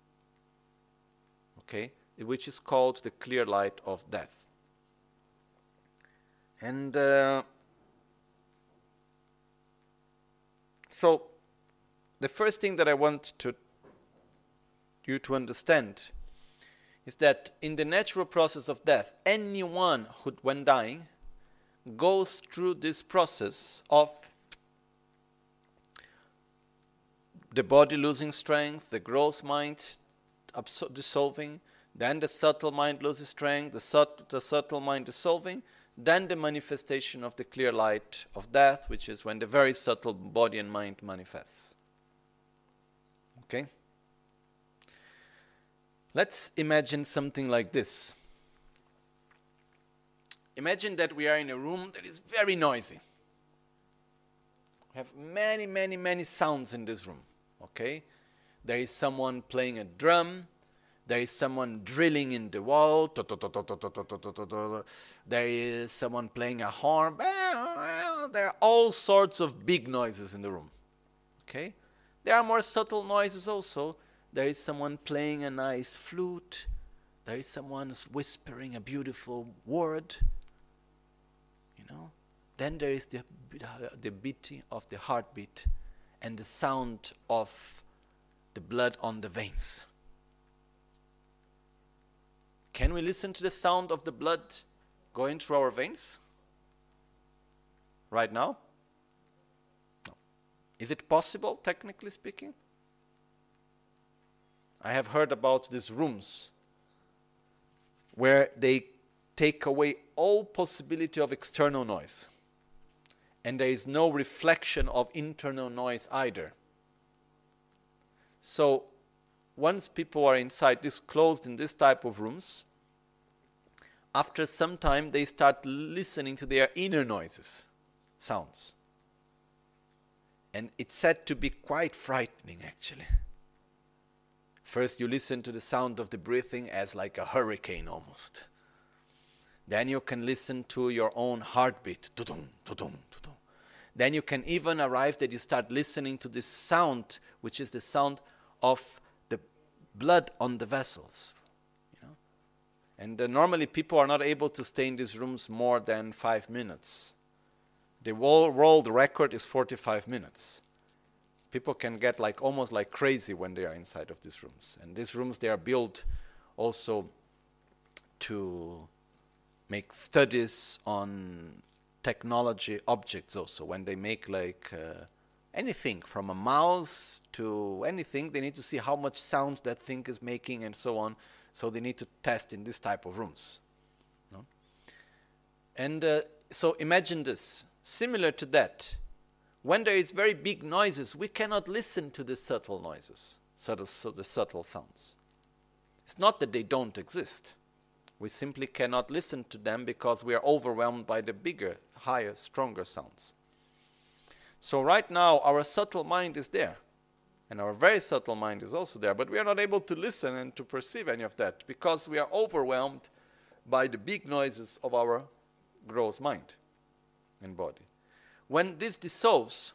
okay, which is called the clear light of death. And so the first thing that I want you to understand is that in the natural process of death, anyone who, when dying, goes through this process of the body losing strength, the gross mind dissolving, then the subtle mind loses strength, the subtle mind dissolving, then the manifestation of the clear light of death, which is when the very subtle body and mind manifests. Okay? Let's imagine something like this. Imagine that we are in a room that is very noisy. We have many, many, many sounds in this room. Okay? There is someone playing a drum. There is someone drilling in the wall. There is someone playing a horn. There are all sorts of big noises in the room. Okay? There are more subtle noises also. There is someone playing a nice flute. There is someone whispering a beautiful word. You know? Then there is the beating of the heartbeat and the sound of the blood on the veins. Can we listen to the sound of the blood going through our veins? Right now? No. Is it possible, technically speaking? I have heard about these rooms where they take away all possibility of external noise. And there is no reflection of internal noise either. So, once people are inside this closed in this type of rooms, after some time they start listening to their inner noises, sounds. And it's said to be quite frightening actually. First you listen to the sound of the breathing as like a hurricane almost. Then you can listen to your own heartbeat. Tudum, tudum, tudum. Then you can even arrive that you start listening to this sound, which is the sound of the blood on the vessels. You know? And normally people are not able to stay in these rooms more than 5 minutes. The world record is 45 minutes. People can get almost like crazy when they are inside of these rooms. And these rooms, they are built also to make studies on technology objects also. When they make anything from a mouse to anything, they need to see how much sound that thing is making and so on. So they need to test in this type of rooms. No? And so imagine this. Similar to that, when there is very big noises, we cannot listen to the subtle noises, the subtle sounds. It's not that they don't exist. We simply cannot listen to them because we are overwhelmed by the bigger, higher, stronger sounds. So right now, our subtle mind is there. And our very subtle mind is also there. But we are not able to listen and to perceive any of that because we are overwhelmed by the big noises of our gross mind and body. When this dissolves,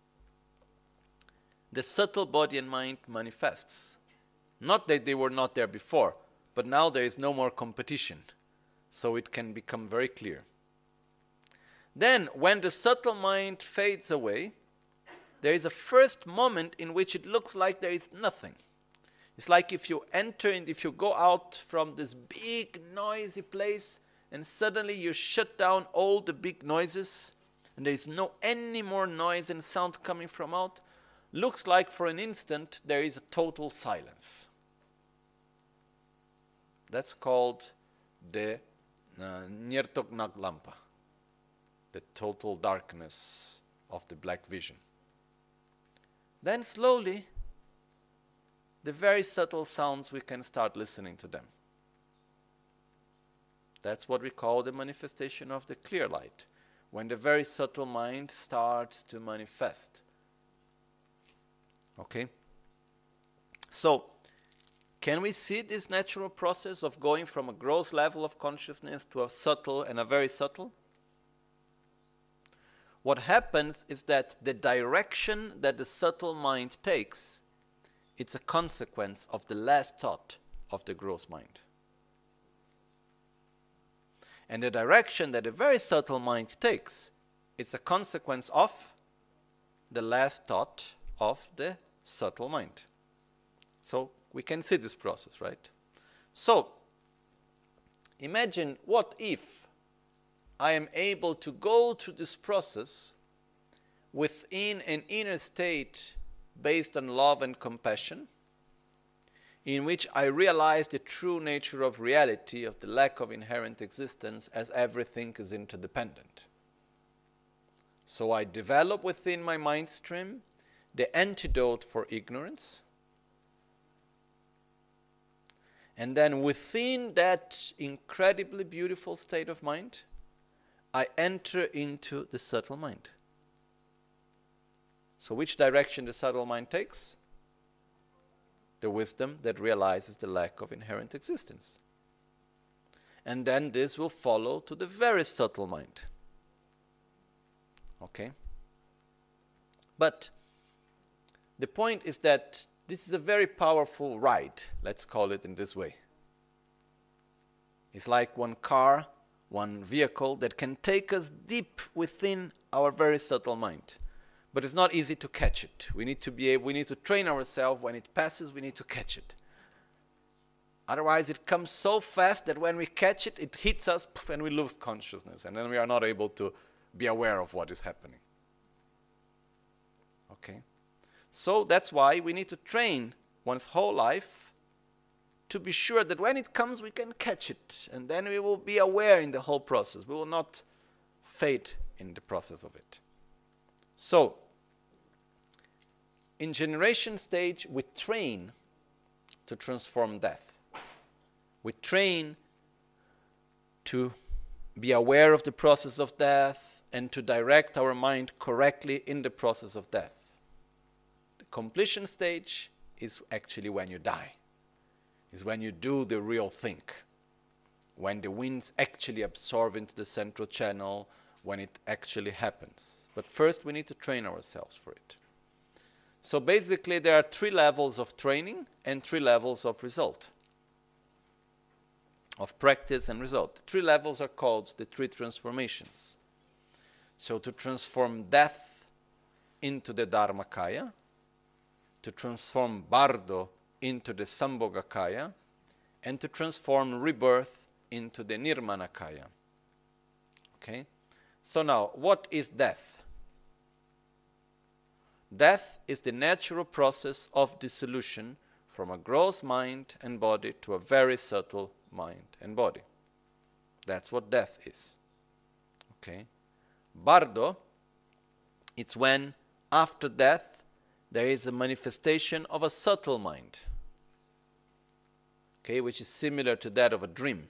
the subtle body and mind manifests. Not that they were not there before, but now there is no more competition, so it can become very clear. Then, when the subtle mind fades away, there is a first moment in which it looks like there is nothing. It's like if you enter and if you go out from this big noisy place and suddenly you shut down all the big noises and there is no any more noise and sound coming from out, looks like for an instant there is a total silence. That's called the Nyertok Naglampa, the total darkness of the black vision. Then slowly, the very subtle sounds, we can start listening to them. That's what we call the manifestation of the clear light, when the very subtle mind starts to manifest. Okay? So, can we see this natural process of going from a gross level of consciousness to a subtle and a very subtle? What happens is that the direction that the subtle mind takes, it's a consequence of the last thought of the gross mind. And the direction that the very subtle mind takes, it's a consequence of the last thought of the subtle mind. So we can see this process, right? So imagine what if I am able to go through this process within an inner state based on love and compassion, in which I realize the true nature of reality, of the lack of inherent existence, as everything is interdependent. So I develop within my mind stream the antidote for ignorance. And then within that incredibly beautiful state of mind, I enter into the subtle mind. So which direction the subtle mind takes? The wisdom that realizes the lack of inherent existence. And then this will follow to the very subtle mind. Okay? But the point is that this is a very powerful ride, let's call it in this way. It's like one car, one vehicle that can take us deep within our very subtle mind. But it's not easy to catch it. We need to train ourselves. When it passes, we need to catch it. Otherwise, it comes so fast that when we catch it, it hits us and we lose consciousness. And then we are not able to be aware of what is happening. Okay? So that's why we need to train one's whole life to be sure that when it comes, we can catch it. And then we will be aware in the whole process. We will not fade in the process of it. So, in generation stage, we train to transform death. We train to be aware of the process of death and to direct our mind correctly in the process of death. The completion stage is actually when you die. Is when you do the real thing. When the winds actually absorb into the central channel, when it actually happens. But first we need to train ourselves for it. So basically there are 3 levels of training and 3 levels of result. Of practice and result. The 3 levels are called the 3 transformations. So to transform death into the Dharmakaya, to transform Bardo into the Sambhogakaya, and to transform rebirth into the Nirmanakaya. Okay? So now, what is death? Death is the natural process of dissolution from a gross mind and body to a very subtle mind and body. That's what death is. Okay? Bardo, it's when after death there is a manifestation of a subtle mind. Okay, which is similar to that of a dream.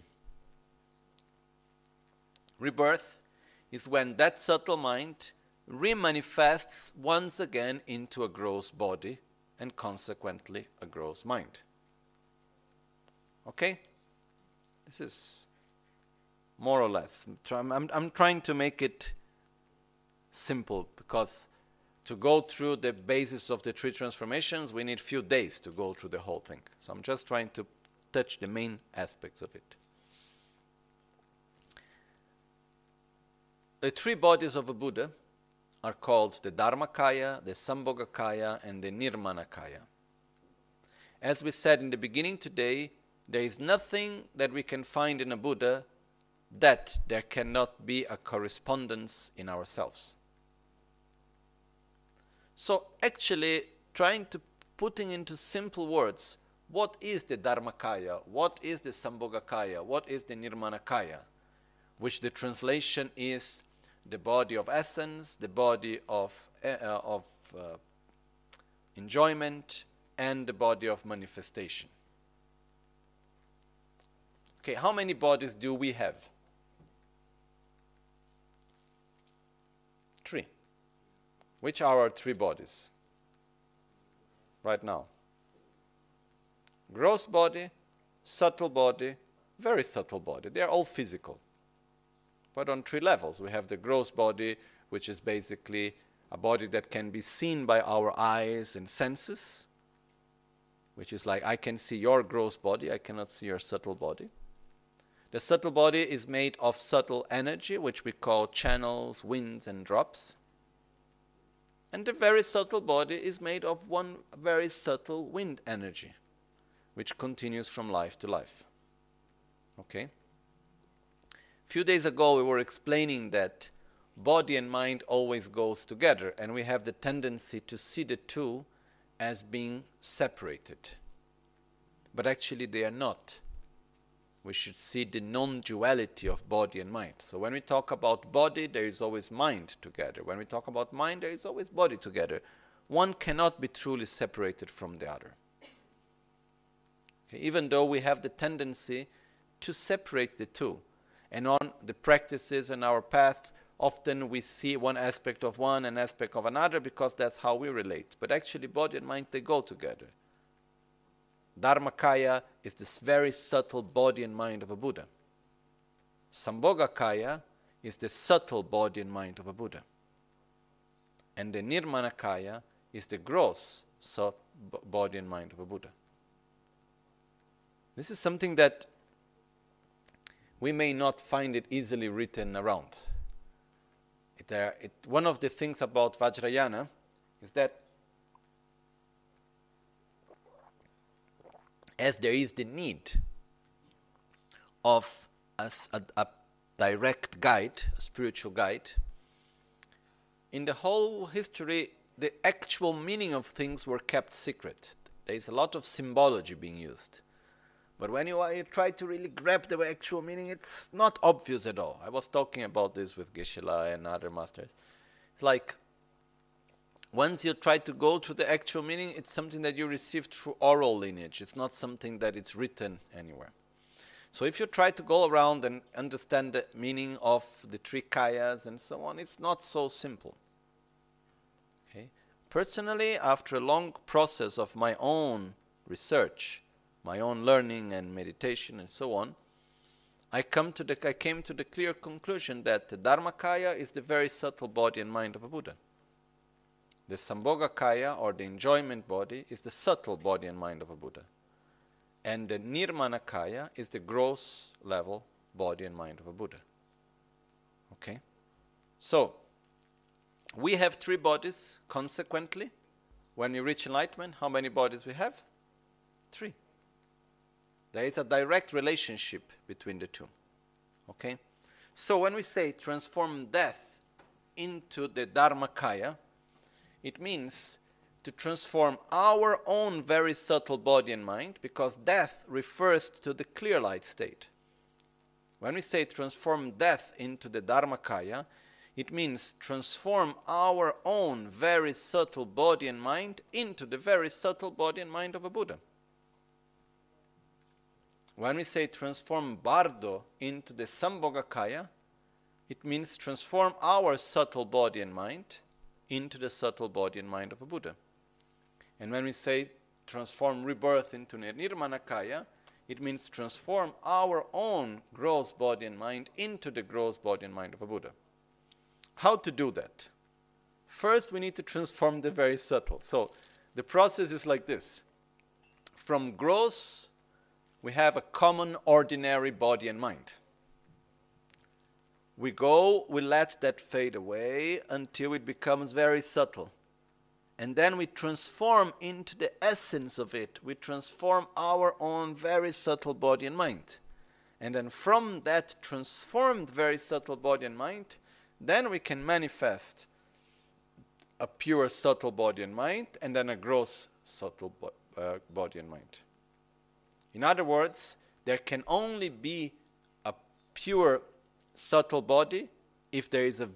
Rebirth is when that subtle mind remanifests once again into a gross body and consequently a gross mind. Okay? This is more or less. I'm trying to make it simple because to go through the basis of the 3 transformations, we need few days to go through the whole thing. So I'm just trying to touch the main aspects of it. The 3 bodies of a Buddha are called the Dharmakaya, the Sambhogakaya, and the Nirmanakaya. As we said in the beginning today, there is nothing that we can find in a Buddha that there cannot be a correspondence in ourselves. So actually, trying to putting into simple words, what is the Dharmakaya, what is the Sambhogakaya, what is the Nirmanakaya, which the translation is the body of essence, the body of enjoyment, and the body of manifestation. Okay, how many bodies do we have? 3. Which are our 3 bodies right now? Gross body, subtle body, very subtle body. They are all physical. But on 3 levels. We have the gross body, which is basically a body that can be seen by our eyes and senses, which is like I can see your gross body, I cannot see your subtle body. The subtle body is made of subtle energy, which we call channels, winds, and drops. And the very subtle body is made of one very subtle wind energy, which continues from life to life. Okay? A few days ago we were explaining that body and mind always goes together, and we have the tendency to see the two as being separated. but actually they are not. We should see the non-duality of body and mind. So when we talk about body, there is always mind together. When we talk about mind, there is always body together. One cannot be truly separated from the other. Okay? Even though we have the tendency to separate the two. And on the practices and our path, often we see one aspect of one and aspect of another because that's how we relate. But actually body and mind, they go together. Dharmakaya is this very subtle body and mind of a Buddha. Sambhogakaya is the subtle body and mind of a Buddha. And the Nirmanakaya is the gross body and mind of a Buddha. This is something that we may not find it easily written around. One of the things about Vajrayana is that as there is the need of a direct guide, a spiritual guide, in the whole history, the actual meaning of things were kept secret. There is a lot of symbology being used. But when you try to really grab the actual meaning, it's not obvious at all. I was talking about this with Geshe-la and other masters. It's like, once you try to go to the actual meaning, it's something that you receive through oral lineage. It's not something that is written anywhere. So if you try to go around and understand the meaning of the three kayas and so on, it's not so simple. Okay? Personally, after a long process of my own research, my own learning and meditation and so on, I came to the clear conclusion that the Dharmakaya is the very subtle body and mind of a Buddha. The Sambhogakaya, or the enjoyment body, is the subtle body and mind of a Buddha. And the Nirmanakaya is the gross level body and mind of a Buddha. Okay? So, we have three bodies, consequently. When we reach enlightenment, how many bodies we have? 3. There is a direct relationship between the two. Okay? So when we say transform death into the Dharmakaya, it means to transform our own very subtle body and mind, because death refers to the clear light state. When we say transform death into the Dharmakaya, it means transform our own very subtle body and mind into the very subtle body and mind of a Buddha. When we say transform Bardo into the Sambhogakaya, it means transform our subtle body and mind into the subtle body and mind of a Buddha. And when we say transform rebirth into Nirmanakaya, it means transform our own gross body and mind into the gross body and mind of a Buddha. How to do that? First, we need to transform the very subtle. So the process is like this. From gross, we have a common ordinary body and mind. We let that fade away until it becomes very subtle. And then we transform into the essence of it. We transform our own very subtle body and mind. And then from that transformed very subtle body and mind, then we can manifest a pure subtle body and mind, and then a gross subtle body and mind. In other words, there can only be a pure subtle body if there is a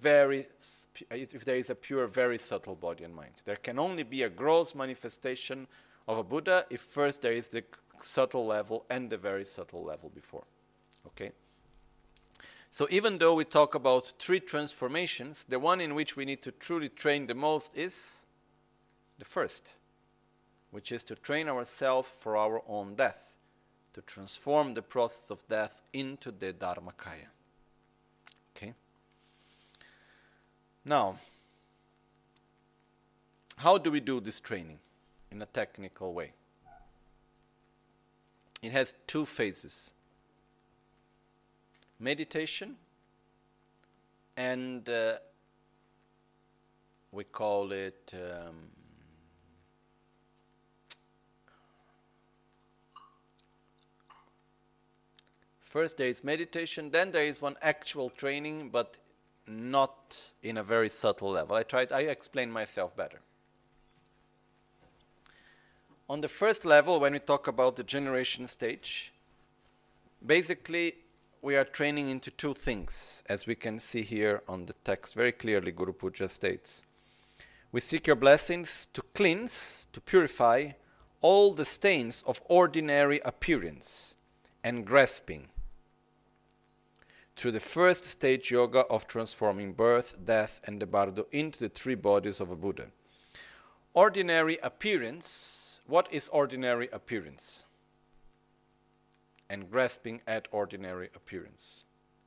pure very subtle body and mind. There can only be a gross manifestation of a Buddha if first there is the subtle level and the very subtle level before. Okay? So even though we talk about 3 transformations, the one in which we need to truly train the most is the first, which is to train ourselves for our own death, to transform the process of death into the Dharmakaya. Okay? Now, how do we do this training in a technical way? It has 2 phases. Meditation, and we call it first there is meditation, then there is one actual training, but not in a very subtle level. I explain myself better. on the first level, when we talk about the generation stage, basically we are training into two things, as we can see here on the text very clearly. Guru Puja states, we seek your blessings to cleanse, to purify all the stains of ordinary appearance and grasping through the first stage yoga of transforming birth, death, and the bardo into the three bodies of a Buddha. Ordinary appearance, what is ordinary appearance? And grasping at ordinary appearance.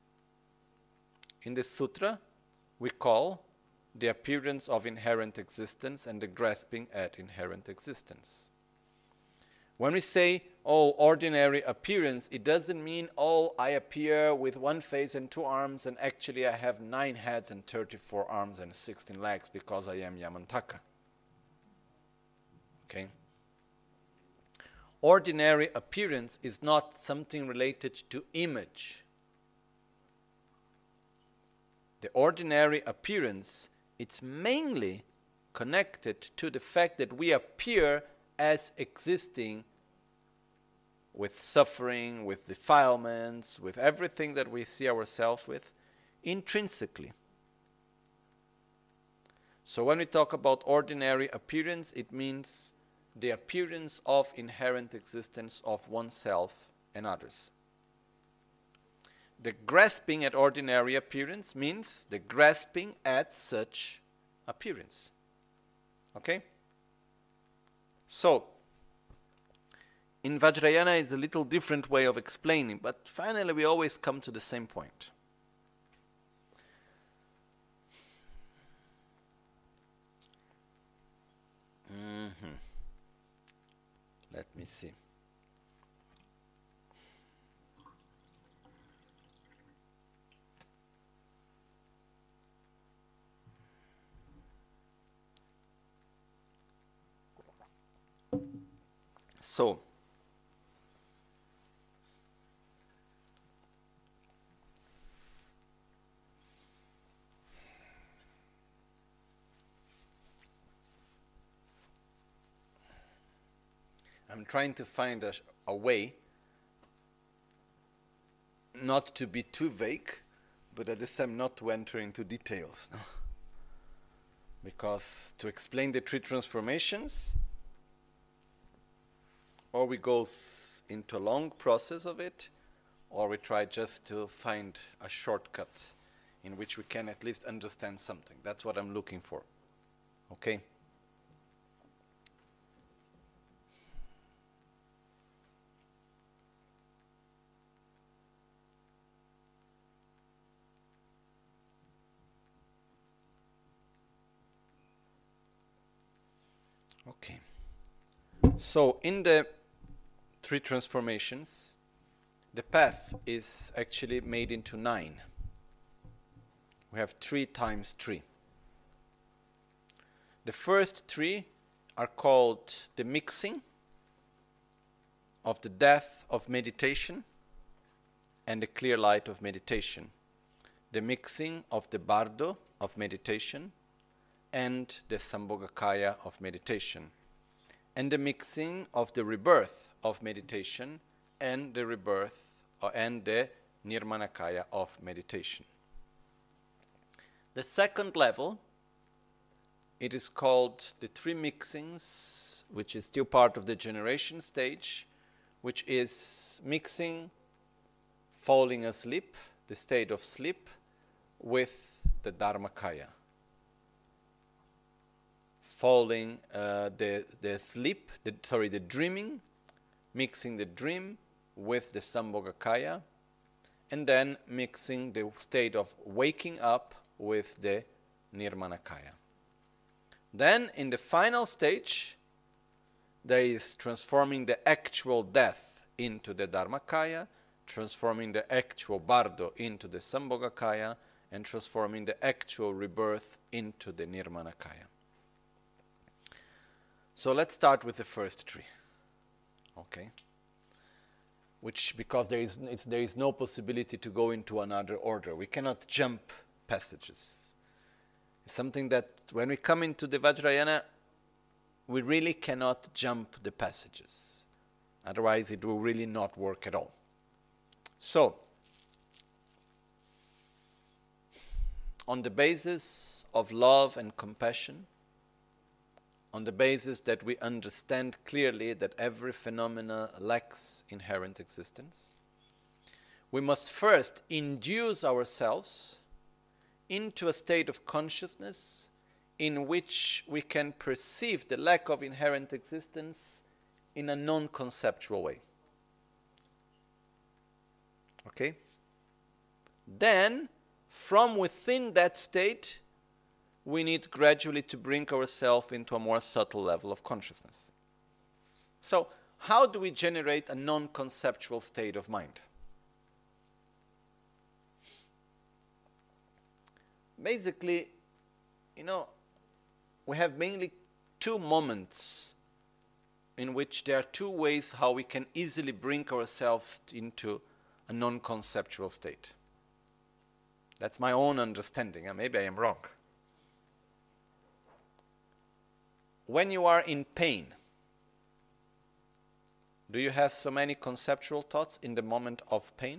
In this sutra, we call the appearance of inherent existence and the grasping at inherent existence. When we say, oh, ordinary appearance, it doesn't mean, oh, I appear with one face and two arms, and actually I have 9 heads and 34 arms and 16 legs because I am Yamantaka. Okay? Ordinary appearance is not something related to image. The ordinary appearance, it's mainly connected to the fact that we appear as existing with suffering, with defilements, with everything that we see ourselves with, intrinsically. So when we talk about ordinary appearance, it means the appearance of inherent existence of oneself and others. The grasping at ordinary appearance means the grasping at such appearance. Okay? So, in Vajrayana it's a little different way of explaining, but finally we always come to the same point. Let me see. So, I'm trying to find a way not to be too vague, but at the same time not to enter into details. No? Because to explain the 3 transformations, or we go into a long process of it, or we try just to find a shortcut in which we can at least understand something. That's what I'm looking for. Okay? Okay. So in the 3 transformations, the path is actually made into 9. We have 3 times 3. The first 3 are called the mixing of the death of meditation and the clear light of meditation. The mixing of the bardo of meditation and the Sambhogakaya of meditation, and the mixing of the rebirth of meditation and the rebirth and the Nirmanakaya of meditation. The second level, it is called the 3 mixings, which is still part of the generation stage, which is mixing falling asleep, the state of sleep, with the Dharmakaya. Falling the dreaming, mixing the dream with the Sambhogakaya, and then mixing the state of waking up with the Nirmanakaya. Then in the final stage, there is transforming the actual death into the Dharmakaya, transforming the actual bardo into the Sambhogakaya, and transforming the actual rebirth into the Nirmanakaya. So let's start with the first 3, okay? Which, because there is no possibility to go into another order. We cannot jump passages. It's something that when we come into the Vajrayana, we really cannot jump the passages. Otherwise, it will really not work at all. So, on the basis of love and compassion, on the basis that we understand clearly that every phenomena lacks inherent existence, we must first induce ourselves into a state of consciousness in which we can perceive the lack of inherent existence in a non-conceptual way. Okay? Then, from within that state, we need gradually to bring ourselves into a more subtle level of consciousness. So, how do we generate a non-conceptual state of mind? Basically, we have mainly two moments in which there are two ways how we can easily bring ourselves into a non-conceptual state. That's my own understanding, and maybe I am wrong. When you are in pain, do you have so many conceptual thoughts in the moment of pain?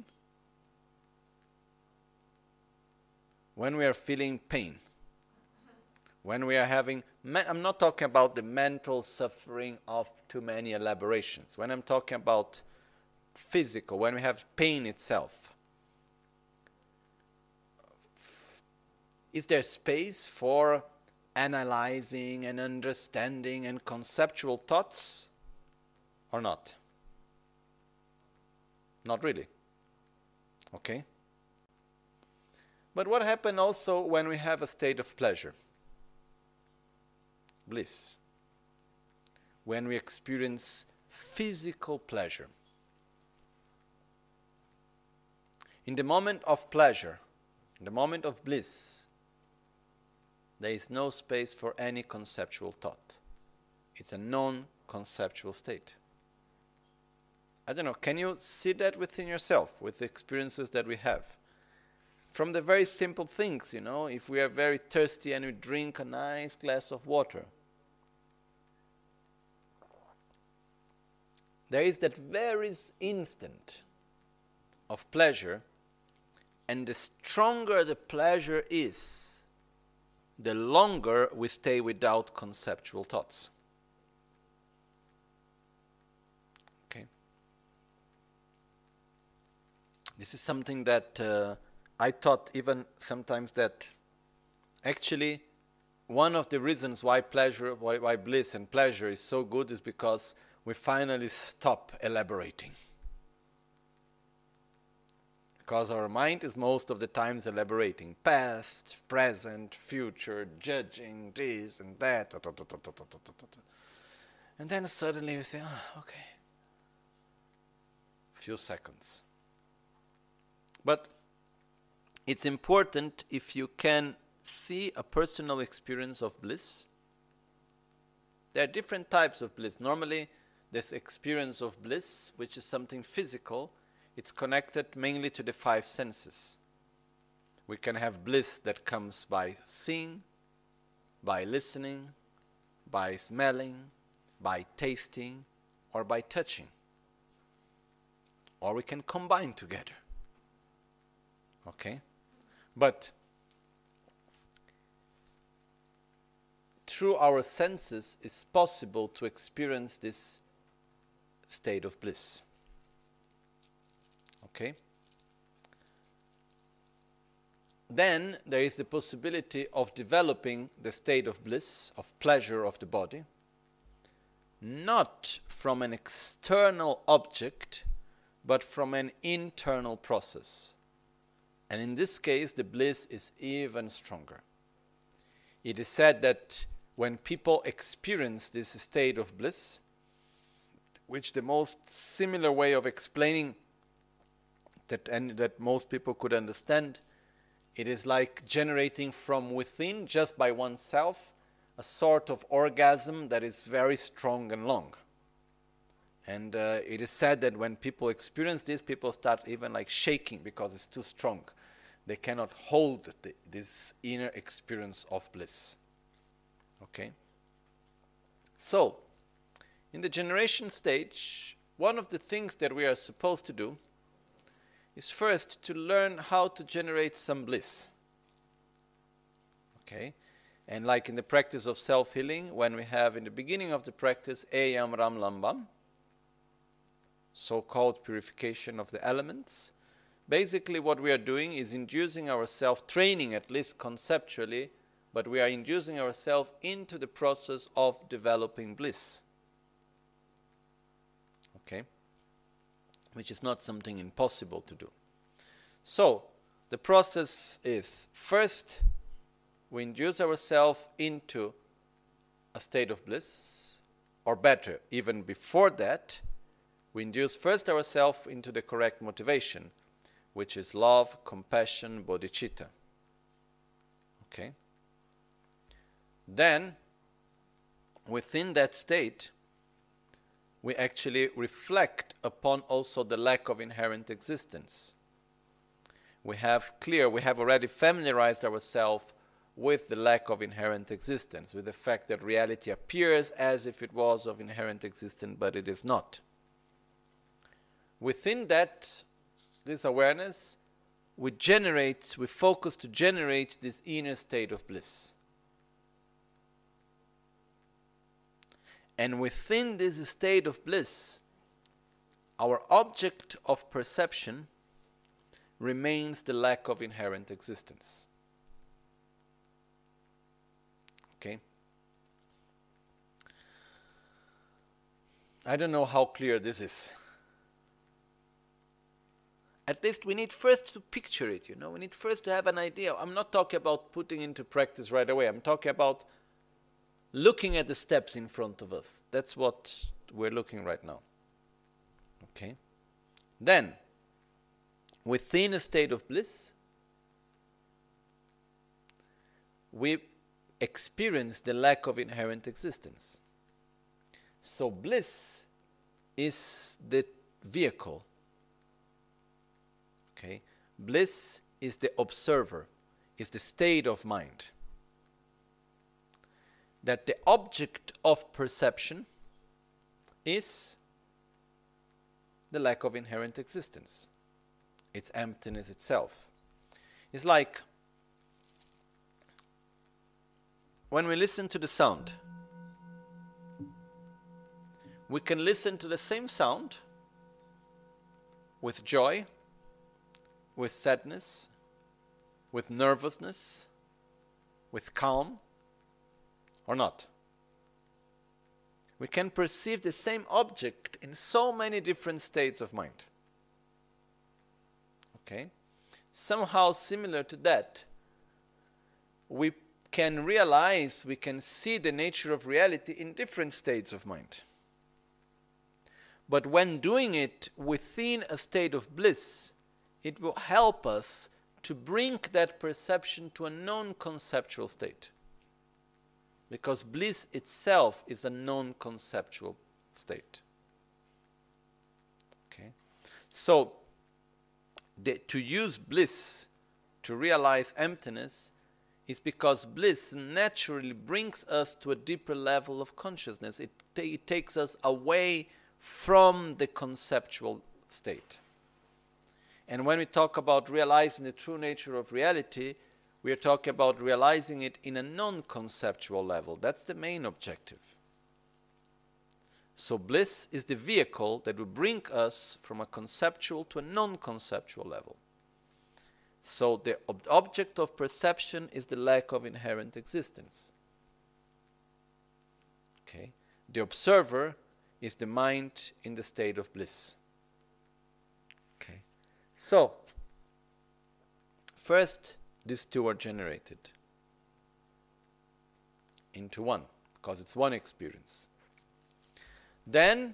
When we are feeling pain, when we are having, I'm not talking about the mental suffering of too many elaborations. When I'm talking about physical, when we have pain itself, is there space for analyzing and understanding and conceptual thoughts or not? Not really. Okay? But what happens also when we have a state of pleasure? Bliss. When we experience physical pleasure. In the moment of pleasure, in the moment of bliss, there is no space for any conceptual thought. It's a non-conceptual state. I don't know, can you see that within yourself, with the experiences that we have? From the very simple things, if we are very thirsty and we drink a nice glass of water, there is that very instant of pleasure, and the stronger the pleasure is, the longer we stay without conceptual thoughts. Okay? This is something that I thought even sometimes that actually one of the reasons why why bliss and pleasure is so good is because we finally stop elaborating. Because our mind is most of the times elaborating past, present, future, judging this and that. And then suddenly we say, okay. Few seconds. But it's important if you can see a personal experience of bliss. There are different types of bliss. Normally, this experience of bliss, which is something physical, it's connected mainly to the five senses. We can have bliss that comes by seeing, by listening, by smelling, by tasting, or by touching. Or we can combine together. Okay? But through our senses it's possible to experience this state of bliss. Okay? Then there is the possibility of developing the state of bliss, of pleasure of the body, not from an external object, but from an internal process. And in this case, the bliss is even stronger. It is said that when people experience this state of bliss, which the most similar way of explaining that most people could understand, it is like generating from within, just by oneself, a sort of orgasm that is very strong and long. And it is said that when people experience this, people start even like shaking because it's too strong. They cannot hold this inner experience of bliss. Okay? So, in the generation stage, one of the things that we are supposed to do is first to learn how to generate some bliss. Okay? And like in the practice of self-healing, when we have in the beginning of the practice Eyam Ram Lambam, so-called purification of the elements, basically what we are doing is inducing ourselves, training at least conceptually, but we are inducing ourselves into the process of developing bliss. Okay? Which is not something impossible to do. So, the process is, first, we induce ourselves into a state of bliss, or better, even before that, we induce first ourselves into the correct motivation, which is love, compassion, bodhicitta. Okay? Then, within that state, we actually reflect upon also the lack of inherent existence. We have already familiarized ourselves with the lack of inherent existence, with the fact that reality appears as if it was of inherent existence, but it is not. Within this awareness, we focus to generate this inner state of bliss. And within this state of bliss, our object of perception remains the lack of inherent existence. Okay? I don't know how clear this is. At least we need first to picture it, we need first to have an idea. I'm not talking about putting into practice right away. I'm talking about looking at the steps in front of us. That's what we're looking right now. Okay? Then, within a state of bliss, we experience the lack of inherent existence. So bliss is the vehicle. Okay? Bliss is the observer, is the state of mind. That the object of perception is the lack of inherent existence. It's emptiness itself. It's like when we listen to the sound, we can listen to the same sound with joy, with sadness, with nervousness, with calm, or not. We can perceive the same object in so many different states of mind. Okay? Somehow similar to that, we can realize, we can see the nature of reality in different states of mind. But when doing it within a state of bliss, it will help us to bring that perception to a non-conceptual state. Because bliss itself is a non-conceptual state. Okay? So, to use bliss to realize emptiness is because bliss naturally brings us to a deeper level of consciousness. It takes us away from the conceptual state. And when we talk about realizing the true nature of reality, we are talking about realizing it in a non-conceptual level. That's the main objective. So bliss is the vehicle that will bring us from a conceptual to a non-conceptual level. So the object of perception is the lack of inherent existence. Okay? The observer is the mind in the state of bliss. Okay? So, first, these two are generated into one, because it's one experience. Then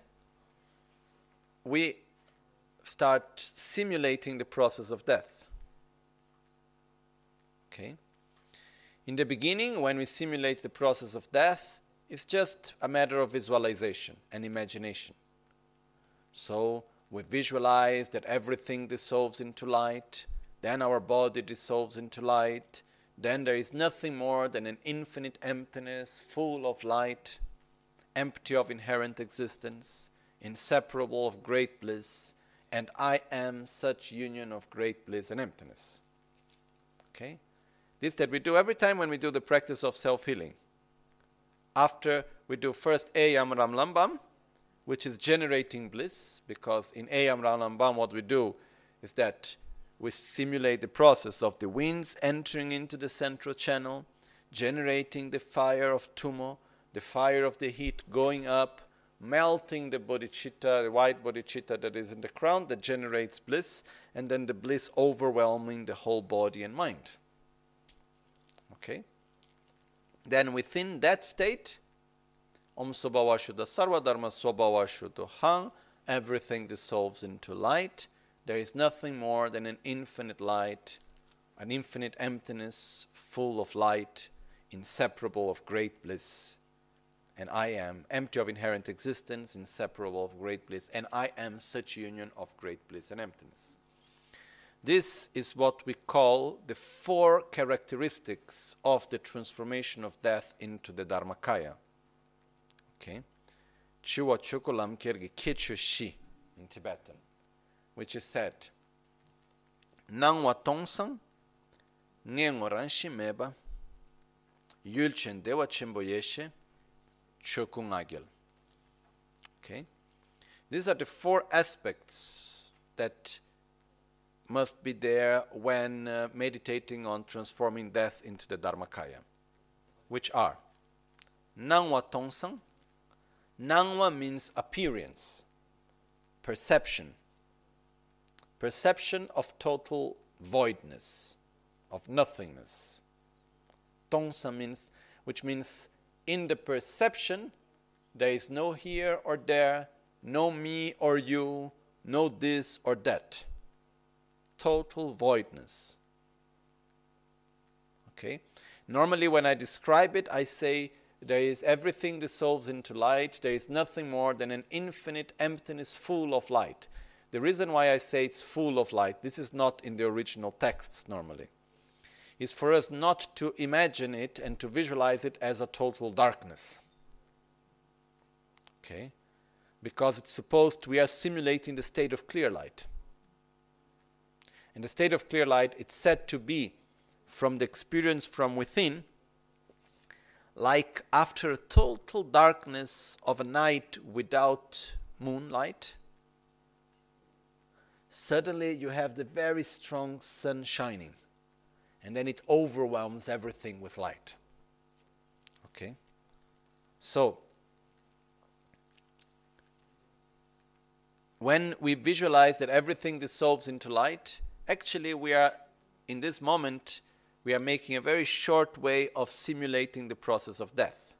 we start simulating the process of death. Okay? In the beginning, when we simulate the process of death, it's just a matter of visualization and imagination. So we visualize that everything dissolves into light, then our body dissolves into light, then there is nothing more than an infinite emptiness full of light, empty of inherent existence, inseparable of great bliss, and I am such union of great bliss and emptiness. Okay? This that we do every time when we do the practice of self-healing. After we do first Ayam Ram Lambam, which is generating bliss, because in Ayam Ram Lambam what we do is that we simulate the process of the winds entering into the central channel, generating the fire of Tumo, the fire of the heat going up, melting the bodhicitta, the white bodhicitta that is in the crown that generates bliss, and then the bliss overwhelming the whole body and mind. Okay? Then within that state, Om Sobhava Shuddha Sarva Dharma Sobhava Shuddha Hang, everything dissolves into light. There is nothing more than an infinite light, an infinite emptiness, full of light, inseparable of great bliss. And I am empty of inherent existence, inseparable of great bliss, and I am such union of great bliss and emptiness. This is what we call the 4 characteristics of the transformation of death into the Dharmakaya. Okay? Chiwa Chukulam Kirgi Kichu Shi in Tibetan, which is said, Nangwa Tongsang, Ngengoran Shimeba, Yulchen Dewa Chimboyeshe, Chokungagil. Okay? These are the 4 aspects that must be there when meditating on transforming death into the Dharmakaya, which are Nangwa Tongsang. Nangwa means appearance, perception. Perception of total voidness, of nothingness. Tongsa means, which means in the perception, there is no here or there, no me or you, no this or that. Total voidness. Okay? Normally when I describe it, I say there is everything dissolves into light. There is nothing more than an infinite emptiness full of light. The reason why I say it's full of light, this is not in the original texts normally, is for us not to imagine it and to visualize it as a total darkness. Okay? Because it's supposed, we are simulating the state of clear light. And the state of clear light, it's said to be, from the experience from within, like after a total darkness of a night without moonlight, suddenly you have the very strong sun shining. And then it overwhelms everything with light. Okay? So, when we visualize that everything dissolves into light, actually we are, in this moment, we are making a very short way of simulating the process of death.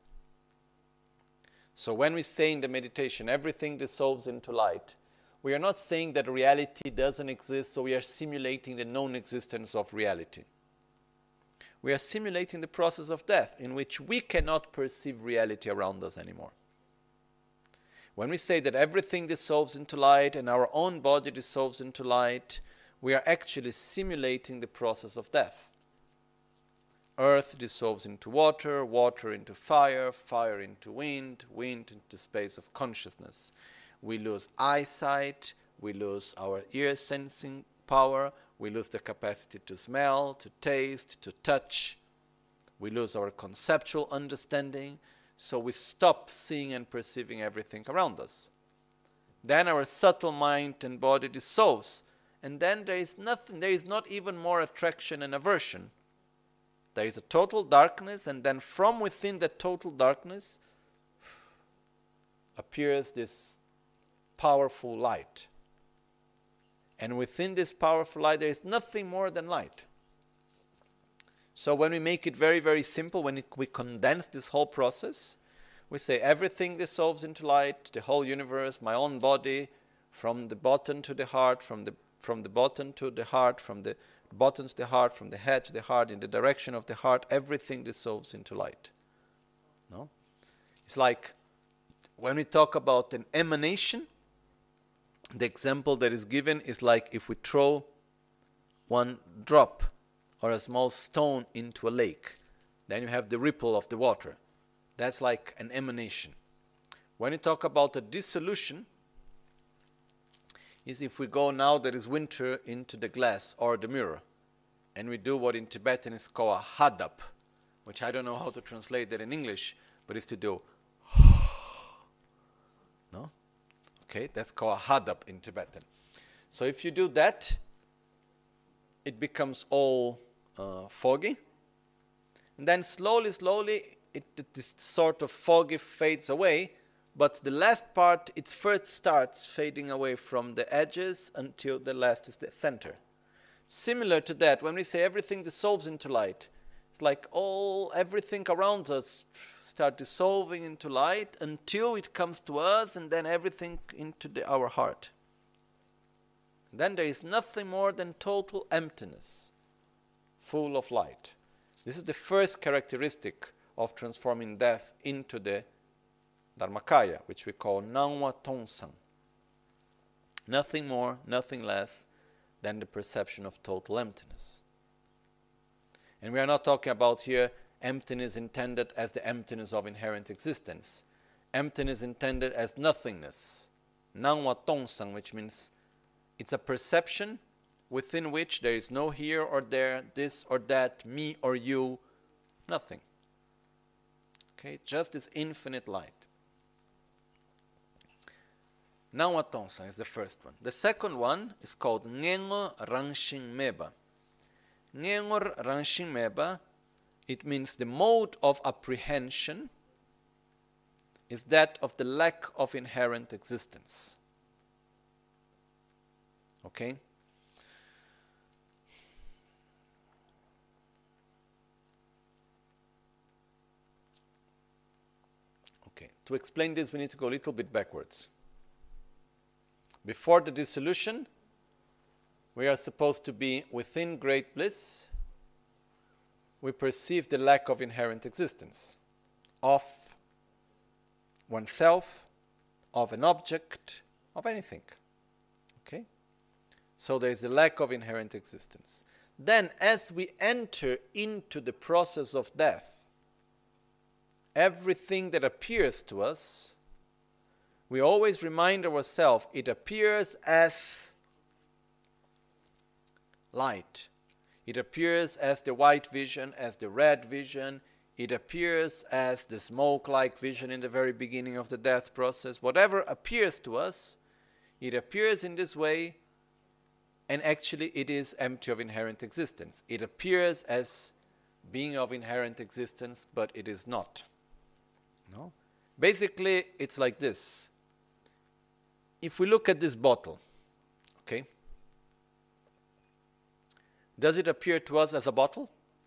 So when we say in the meditation, everything dissolves into light, we are not saying that reality doesn't exist, so we are simulating the non-existence of reality. We are simulating the process of death, in which we cannot perceive reality around us anymore. When we say that everything dissolves into light and our own body dissolves into light, we are actually simulating the process of death. Earth dissolves into water, water into fire, fire into wind, wind into the space of consciousness. We lose eyesight, we lose our ear sensing power, we lose the capacity to smell, to taste, to touch. We lose our conceptual understanding, so we stop seeing and perceiving everything around us. Then our subtle mind and body dissolves, and then there is nothing, there is not even more attraction and aversion. There is a total darkness, and then from within that total darkness appears this powerful light. And within this powerful light, there is nothing more than light. So when we make it very, very simple, when we condense this whole process, we say everything dissolves into light, the whole universe, my own body, from the bottom to the heart, from the bottom to the heart, from the bottom to the heart, from the head to the heart, in the direction of the heart, everything dissolves into light. No? It's like when we talk about an emanation, the example that is given is like if we throw one drop or a small stone into a lake, then you have the ripple of the water. That's like an emanation. When you talk about a dissolution, is if we go now that is winter into the glass or the mirror, and we do what in Tibetan is called a hadap, which I don't know how to translate that in English, but it's to do no? Okay, that's called a hadap in Tibetan. So if you do that, it becomes all foggy, and then slowly, this sort of foggy fades away, but the last part, it first starts fading away from the edges until the last is the center. Similar to that, when we say everything dissolves into light, it's like everything around us start dissolving into light until it comes to us, and then everything into our heart. Then there is nothing more than total emptiness, full of light. This is the first characteristic of transforming death into the Dharmakaya, which we call Nangwa Tongsang. Nothing more, nothing less than the perception of total emptiness. And we are not talking about here emptiness intended as the emptiness of inherent existence. Emptiness intended as nothingness. Nangwa Tongsang, which means it's a perception within which there is no here or there, this or that, me or you, nothing. Okay, just this infinite light. Nangwa Tongsang is the first one. The second one is called Ngengo Rangshin Meba. Ngengo Rangshin Meba, it means the mode of apprehension is that of the lack of inherent existence. Okay? Okay, to explain this we need to go a little bit backwards. Before the dissolution, we are supposed to be within great bliss. We perceive the lack of inherent existence of oneself, of an object, of anything. Okay? So there is the lack of inherent existence. Then, as we enter into the process of death, everything that appears to us, we always remind ourselves it appears as light. It appears as the white vision, as the red vision. It appears as the smoke-like vision in the very beginning of the death process. Whatever appears to us, it appears in this way, and actually it is empty of inherent existence. It appears as being of inherent existence, but it is not. No? Basically, it's like this. If we look at this bottle, okay, does it appear to us as a bottle?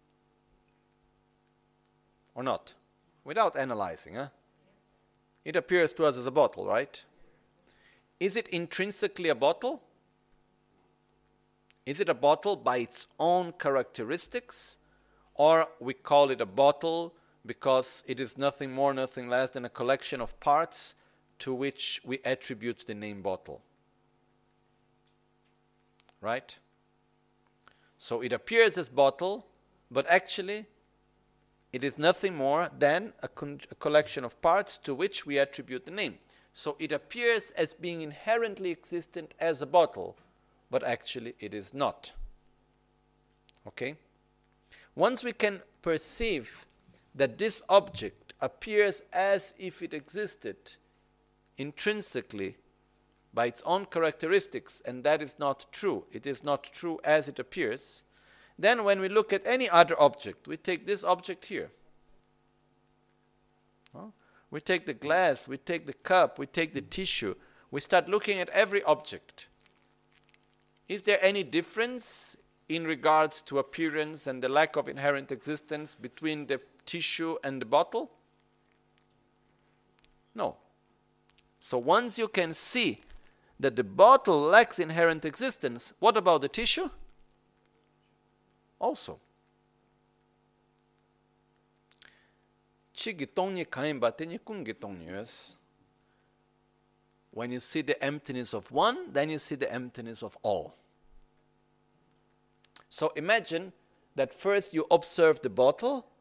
Or not? Without analyzing, huh? It appears to us as a bottle, right? Is it intrinsically a bottle? Is it a bottle by its own characteristics? Or we call it a bottle because it is nothing more, nothing less than a collection of parts to which we attribute the name bottle. Right? So it appears as bottle, but actually it is nothing more than a collection of parts to which we attribute the name. So it appears as being inherently existent as a bottle, but actually it is not. Okay? Once we can perceive that this object appears as if it existed intrinsically by its own characteristics, and that is not true. It is not true as it appears. Then when we look at any other object, we take this object here. We take the glass, we take the cup, we take the tissue. We start looking at every object. Is there any difference in regards to appearance and the lack of inherent existence between the tissue and the bottle? No. So once you can see that the bottle lacks inherent existence, what about the tissue? Also. When you see the emptiness of one, then you see the emptiness of all. So imagine that first you observe the bottle,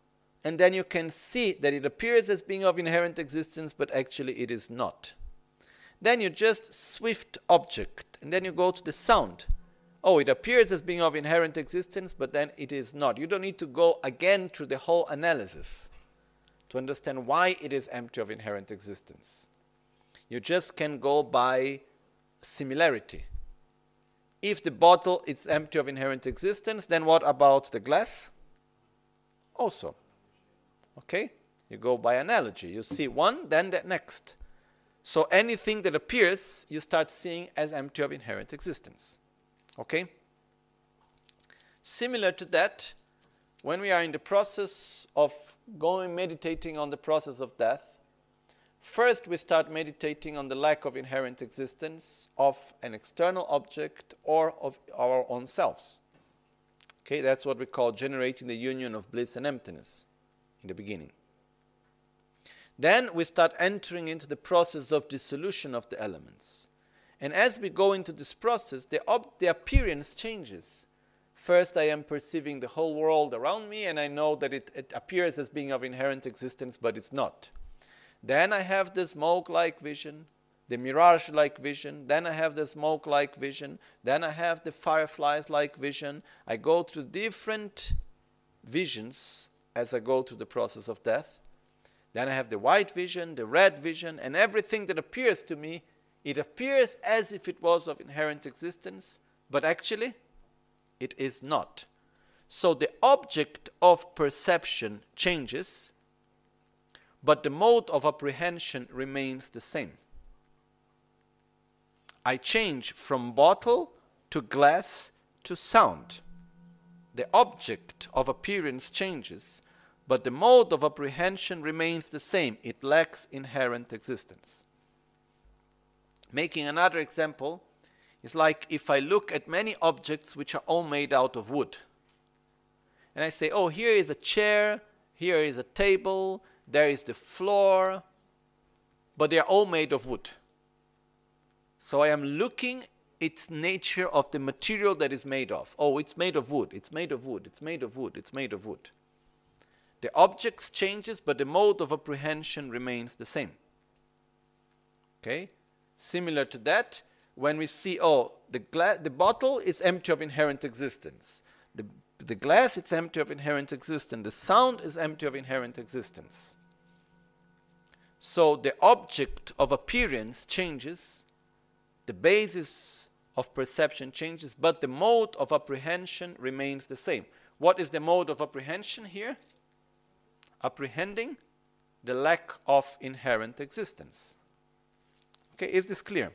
and then you can see that it appears as being of inherent existence, but actually it is not. Then you just swift object, and then you go to the sound. Oh, it appears as being of inherent existence, but then it is not. You don't need to go again through the whole analysis to understand why it is empty of inherent existence. You just can go by similarity. If the bottle is empty of inherent existence, then what about the glass? Also. Okay? You go by analogy. You see one, then the next. So anything that appears, you start seeing as empty of inherent existence. Okay? Similar to that, when we are in the process of meditating on the process of death, first we start meditating on the lack of inherent existence of an external object or of our own selves. Okay, that's what we call generating the union of bliss and emptiness in the beginning. Then we start entering into the process of dissolution of the elements. And as we go into this process, the appearance changes. First, I am perceiving the whole world around me, and I know that it appears as being of inherent existence, but it's not. Then I have the smoke-like vision, the mirage-like vision. Then I have the smoke-like vision. Then I have the fireflies-like vision. I go through different visions as I go through the process of death. Then I have the white vision, the red vision, and everything that appears to me, it appears as if it was of inherent existence, but actually it is not. So the object of perception changes, but the mode of apprehension remains the same. I change from bottle to glass to sound. The object of appearance changes, but the mode of apprehension remains the same. It lacks inherent existence. Making another example, it's like if I look at many objects which are all made out of wood. And I say, oh, here is a chair, here is a table, there is the floor, but they are all made of wood. So I am looking its nature of the material that is made of. Oh, it's made of wood, it's made of wood, it's made of wood, it's made of wood. The objects changes, but the mode of apprehension remains the same. Okay? Similar to that, when we see, oh, the bottle is empty of inherent existence. The glass is empty of inherent existence. The sound is empty of inherent existence. So the object of appearance changes, the basis of perception changes, but the mode of apprehension remains the same. What is the mode of apprehension here? Apprehending the lack of inherent existence. Okay, is this clear?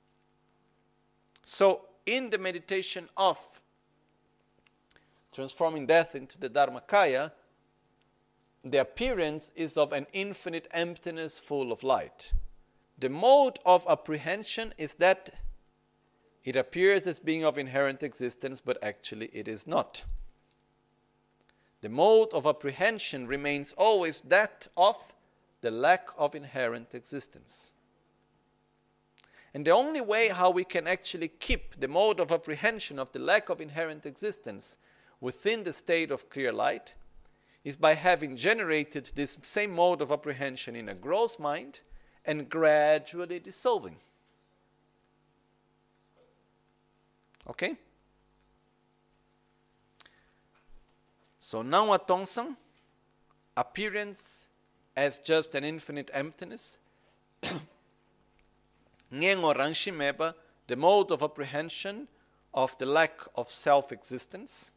So, in the meditation of transforming death into the Dharmakaya, the appearance is of an infinite emptiness full of light. The mode of apprehension is that it appears as being of inherent existence, but actually it is not. The mode of apprehension remains always that of the lack of inherent existence. And the only way how we can actually keep the mode of apprehension of the lack of inherent existence within the state of clear light is by having generated this same mode of apprehension in a gross mind and gradually dissolving. Okay? So now at Tongsan, appearance as just an infinite emptiness. Ngengo Ranshimeba, the mode of apprehension of the lack of self-existence.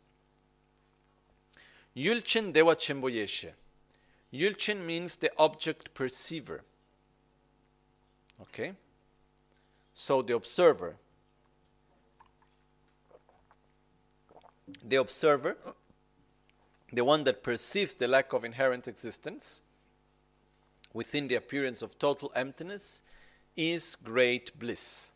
Yulchen Dewa Chemboyeshe. Yulchen means the object perceiver. Okay? So the observer. The observer, the one that perceives the lack of inherent existence within the appearance of total emptiness, is great bliss.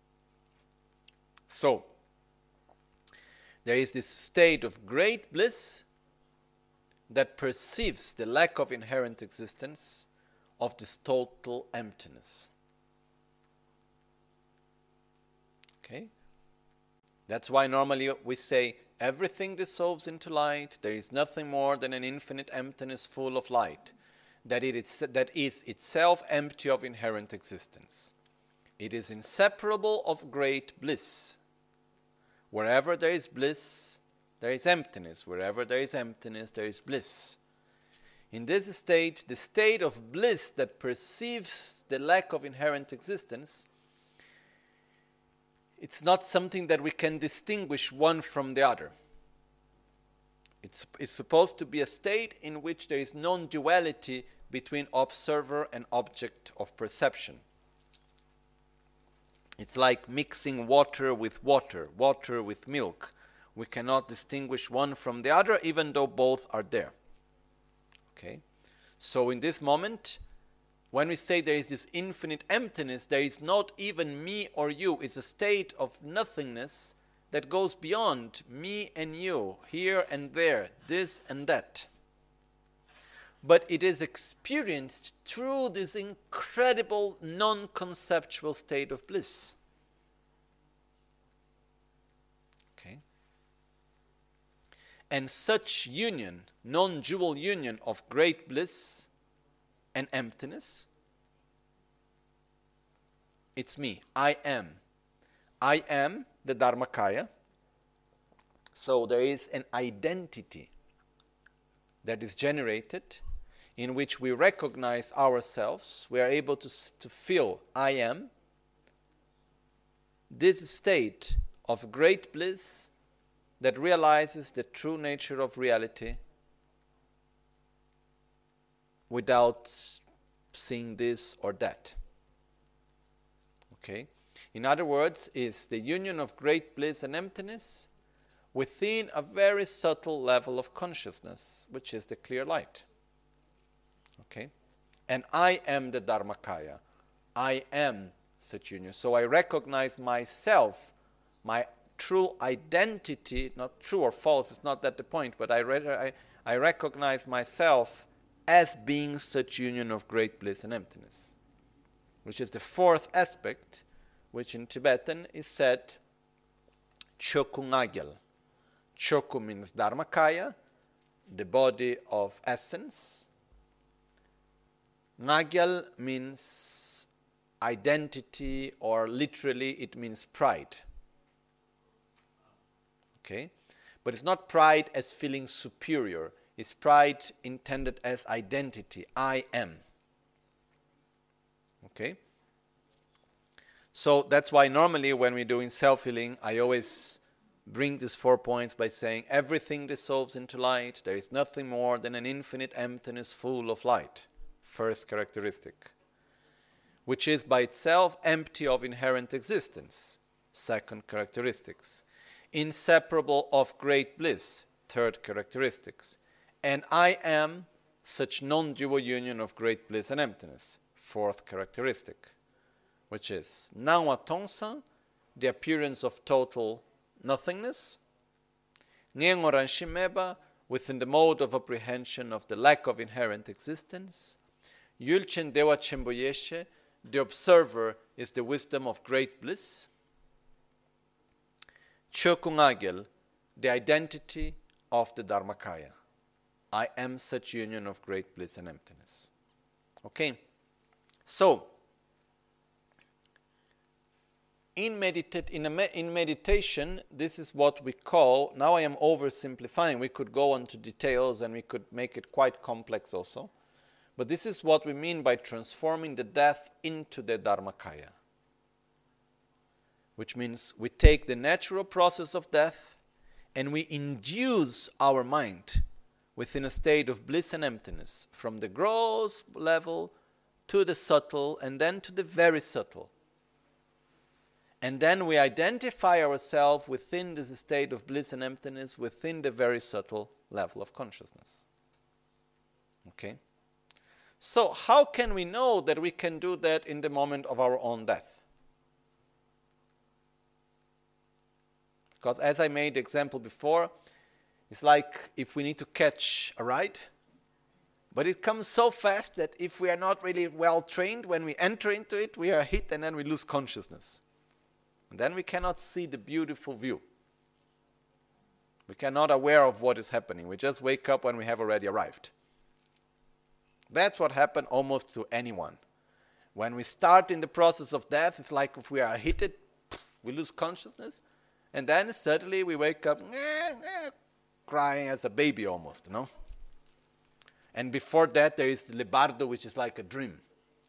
So, there is this state of great bliss that perceives the lack of inherent existence of this total emptiness. Okay? That's why normally we say Everything dissolves into light. There is nothing more than an infinite emptiness full of light, that is itself empty of inherent existence. It is inseparable of great bliss. Wherever there is bliss, there is emptiness. Wherever there is emptiness, there is bliss. In this state, the state of bliss that perceives the lack of inherent existence, it's not something that we can distinguish one from the other. It's supposed to be a state in which there is non-duality between observer and object of perception. It's like mixing water with water, water with milk. We cannot distinguish one from the other, even though both are there. Okay? So in this moment, when we say there is this infinite emptiness, there is not even me or you. It's a state of nothingness that goes beyond me and you, here and there, this and that. But it is experienced through this incredible non-conceptual state of bliss. Okay? And such union, non-dual union of great bliss and emptiness, it's me. I am. I am the Dharmakaya. So there is an identity that is generated in which we recognize ourselves. We are able to feel I am. This state of great bliss that realizes the true nature of reality without seeing this or that. Okay? In other words, is the union of great bliss and emptiness within a very subtle level of consciousness, which is the clear light. Okay? And I am the Dharmakaya. I am such union. So I recognize myself, my true identity, not true or false, it's not that the point, but I recognize myself as being such union of great bliss and emptiness, which is the fourth aspect, which in Tibetan is said Chokungagyal. Choku means Dharmakaya, the body of essence. Nagyal means identity, or literally it means pride. Okay? But it's not pride as feeling superior. It's pride intended as identity. I am. Okay? So that's why normally when we're doing self-healing, I always bring these 4 points by saying everything dissolves into light. There is nothing more than an infinite emptiness full of light. First characteristic. Which is by itself empty of inherent existence. Second characteristics. Inseparable of great bliss. Third characteristics. And I am such non-dual union of great bliss and emptiness. Fourth characteristic. Which is Nawa Tongsa, the appearance of total nothingness. Nyengoran Shimeba, within the mode of apprehension of the lack of inherent existence. Yulchen Dewa Chemboyeshe, the observer is the wisdom of great bliss. Chokungagel, the identity of the Dharmakaya. I am such union of great bliss and emptiness. Okay? So, in meditation, this is what we call, now I am oversimplifying, we could go into details and we could make it quite complex also, but this is what we mean by transforming the death into the Dharmakaya. Which means we take the natural process of death and we induce our mind within a state of bliss and emptiness, from the gross level to the subtle and then to the very subtle. And then we identify ourselves within this state of bliss and emptiness, within the very subtle level of consciousness. Okay? So how can we know that we can do that in the moment of our own death? Because as I made the example before, it's like if we need to catch a ride, but it comes so fast that if we are not really well trained, when we enter into it, we are hit and then we lose consciousness. And then we cannot see the beautiful view. We cannot aware of what is happening. We just wake up when we have already arrived. That's what happened almost to anyone. When we start in the process of death, it's like if we are hit, we lose consciousness, and then suddenly we wake up crying as a baby almost, you know? And before that, there is Lebardo, which is like a dream.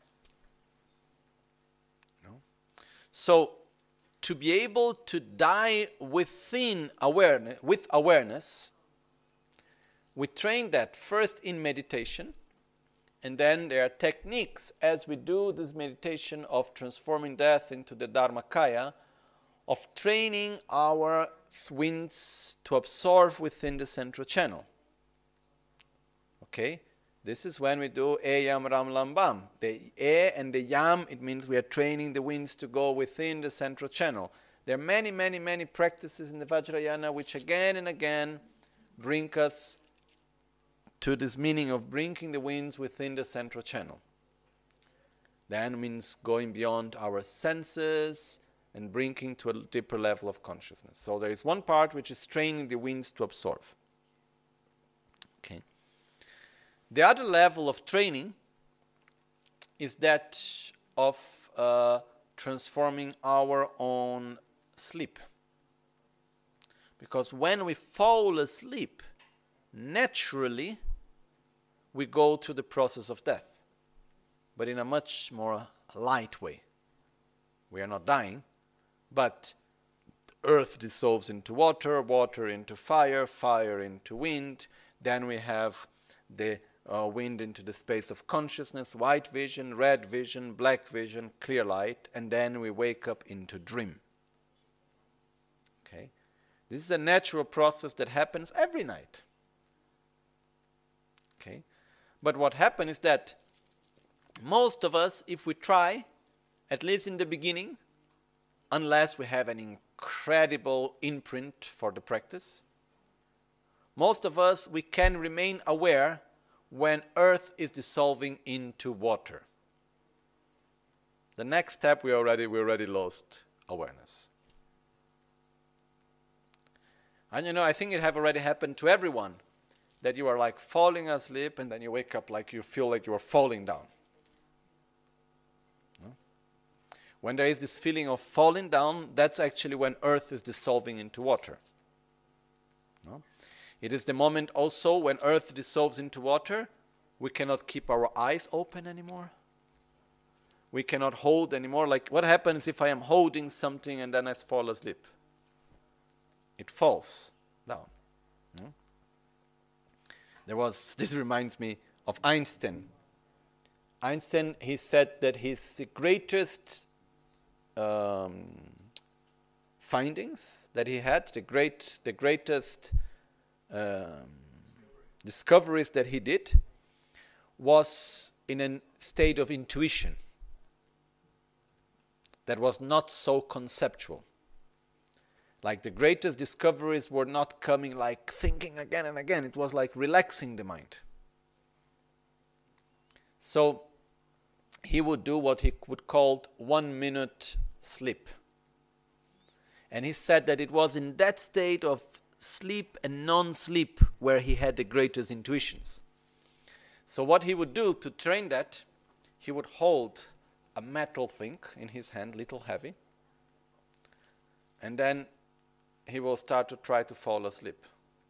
No? So, to be able to die within awareness, with awareness, we train that first in meditation, and then there are techniques as we do this meditation of transforming death into the Dharmakaya, of training our winds to absorb within the central channel. Okay? This is when we do E Yam Ram Lam Bam. The E and the Yam, it means we are training the winds to go within the central channel. There are many, many, many practices in the Vajrayana which again and again bring us to this meaning of bringing the winds within the central channel. Then means going beyond our senses and bringing to a deeper level of consciousness. So there is one part which is training the winds to absorb. Okay. The other level of training is that of transforming our own sleep. Because when we fall asleep, naturally we go through the process of death, but in a much more light way. We are not dying, but earth dissolves into water, water into fire, fire into wind. Then we have the wind into the space of consciousness, white vision, red vision, black vision, clear light, and then we wake up into dream. Okay? This is a natural process that happens every night. Okay? But what happens is that most of us, if we try, at least in the beginning, unless we have an incredible imprint for the practice, most of us, we can remain aware when earth is dissolving into water. The next step, we already lost awareness. And you know, I think it have already happened to everyone, that you are like falling asleep and then you wake up like you feel like you are falling down. No? When there is this feeling of falling down, that's actually when earth is dissolving into water. No? It is the moment also when earth dissolves into water, we cannot keep our eyes open anymore. We cannot hold anymore. Like, what happens if I am holding something and then I fall asleep? It falls down. No? This reminds me of Einstein. Einstein, he said that his greatest findings that he had, the greatest discoveries that he did, was in a state of intuition that was not so conceptual. Like the greatest discoveries were not coming like thinking again and again. It was like relaxing the mind. So he would do what he would call 1 minute sleep. And he said that it was in that state of sleep and non-sleep where he had the greatest intuitions. So what he would do to train that, he would hold a metal thing in his hand, little heavy, and then he will start to try to fall asleep.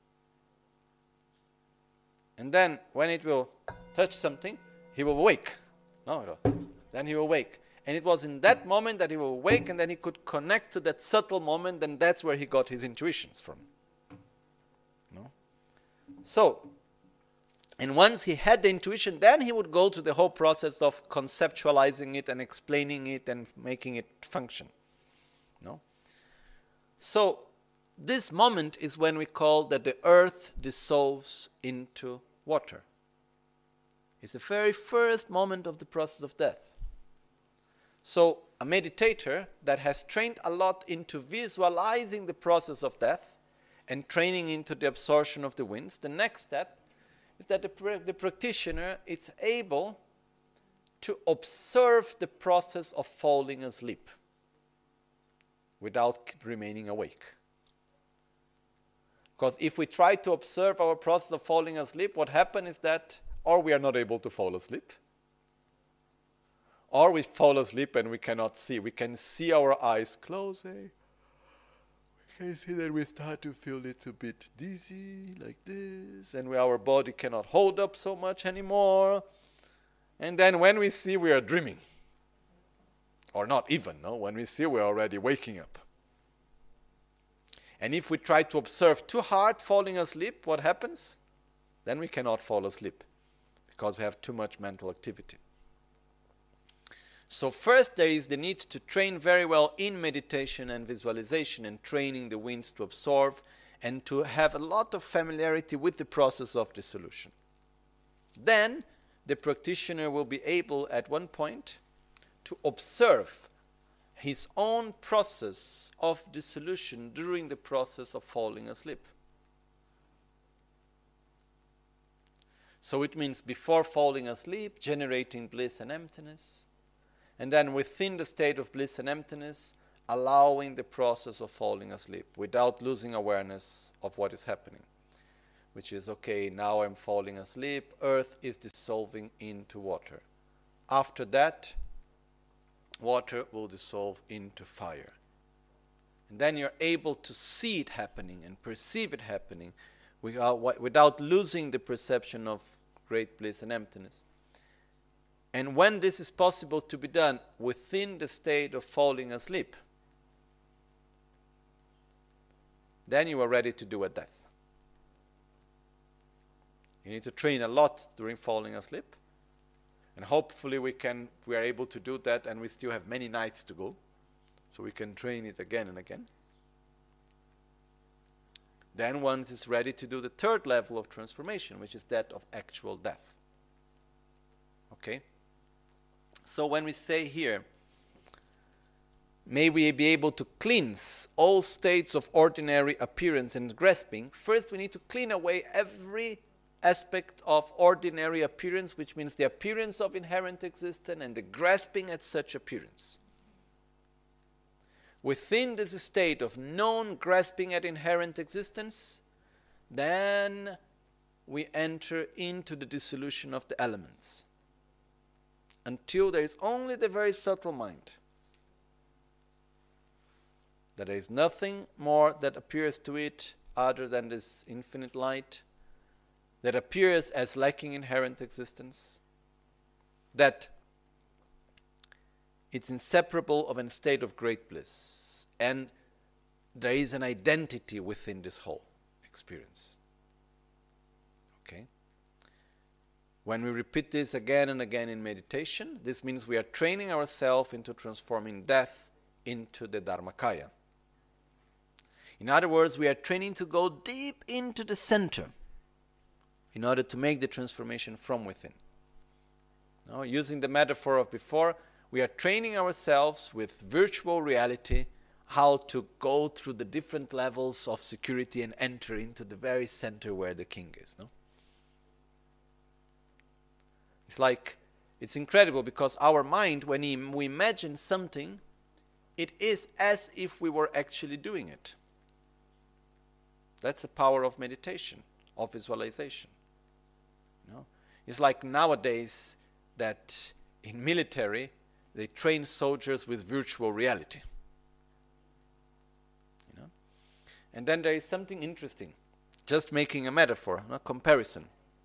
And then when it will touch something, he will wake. Then he will wake. And it was in that moment that he will wake, and then he could connect to that subtle moment, and that's where he got his intuitions from. No? So, and once he had the intuition, then he would go to the whole process of conceptualizing it and explaining it and making it function. No? So, this moment is when we call that the earth dissolves into water. It's the very first moment of the process of death. So a meditator that has trained a lot into visualizing the process of death and training into the absorption of the winds, the next step is that the practitioner is able to observe the process of falling asleep without remaining awake. Because if we try to observe our process of falling asleep, what happens is that or we are not able to fall asleep, or we fall asleep and we cannot see. We can see our eyes closing. We can see that we start to feel a little bit dizzy, like this, and our body cannot hold up so much anymore. And then when we see, we are dreaming. Or not even, no? When we see, we are already waking up. And if we try to observe too hard falling asleep, what happens? Then we cannot fall asleep because we have too much mental activity. So first there is the need to train very well in meditation and visualization and training the winds to absorb and to have a lot of familiarity with the process of dissolution. Then the practitioner will be able at one point to observe his own process of dissolution during the process of falling asleep. So it means before falling asleep, generating bliss and emptiness, and then within the state of bliss and emptiness, allowing the process of falling asleep without losing awareness of what is happening, which is, okay, now I'm falling asleep, earth is dissolving into water. After that, water will dissolve into fire. And then you're able to see it happening and perceive it happening without losing the perception of great bliss and emptiness. And when this is possible to be done within the state of falling asleep, then you are ready to do a death. You need to train a lot during falling asleep. And hopefully we are able to do that, and we still have many nights to go. So we can train it again and again. Then one is ready to do the third level of transformation, which is that of actual death. Okay? So when we say here, may we be able to cleanse all states of ordinary appearance and grasping, first we need to clean away every aspect of ordinary appearance, which means the appearance of inherent existence and the grasping at such appearance. Within this state of known grasping at inherent existence, then we enter into the dissolution of the elements, until there is only the very subtle mind. That there is nothing more that appears to it other than this infinite light, that appears as lacking inherent existence, that it's inseparable of a state of great bliss, and there is an identity within this whole experience. Okay? When we repeat this again and again in meditation, this means we are training ourselves into transforming death into the Dharmakaya. In other words, we are training to go deep into the center in order to make the transformation from within. Now, using the metaphor of before, we are training ourselves with virtual reality how to go through the different levels of security and enter into the very center where the king is. No? It's incredible because our mind, when we imagine something, it is as if we were actually doing it. That's the power of meditation, of visualization. No? It's like nowadays that in military, they train soldiers with virtual reality. You know? And then there is something interesting, just making a metaphor, a comparison.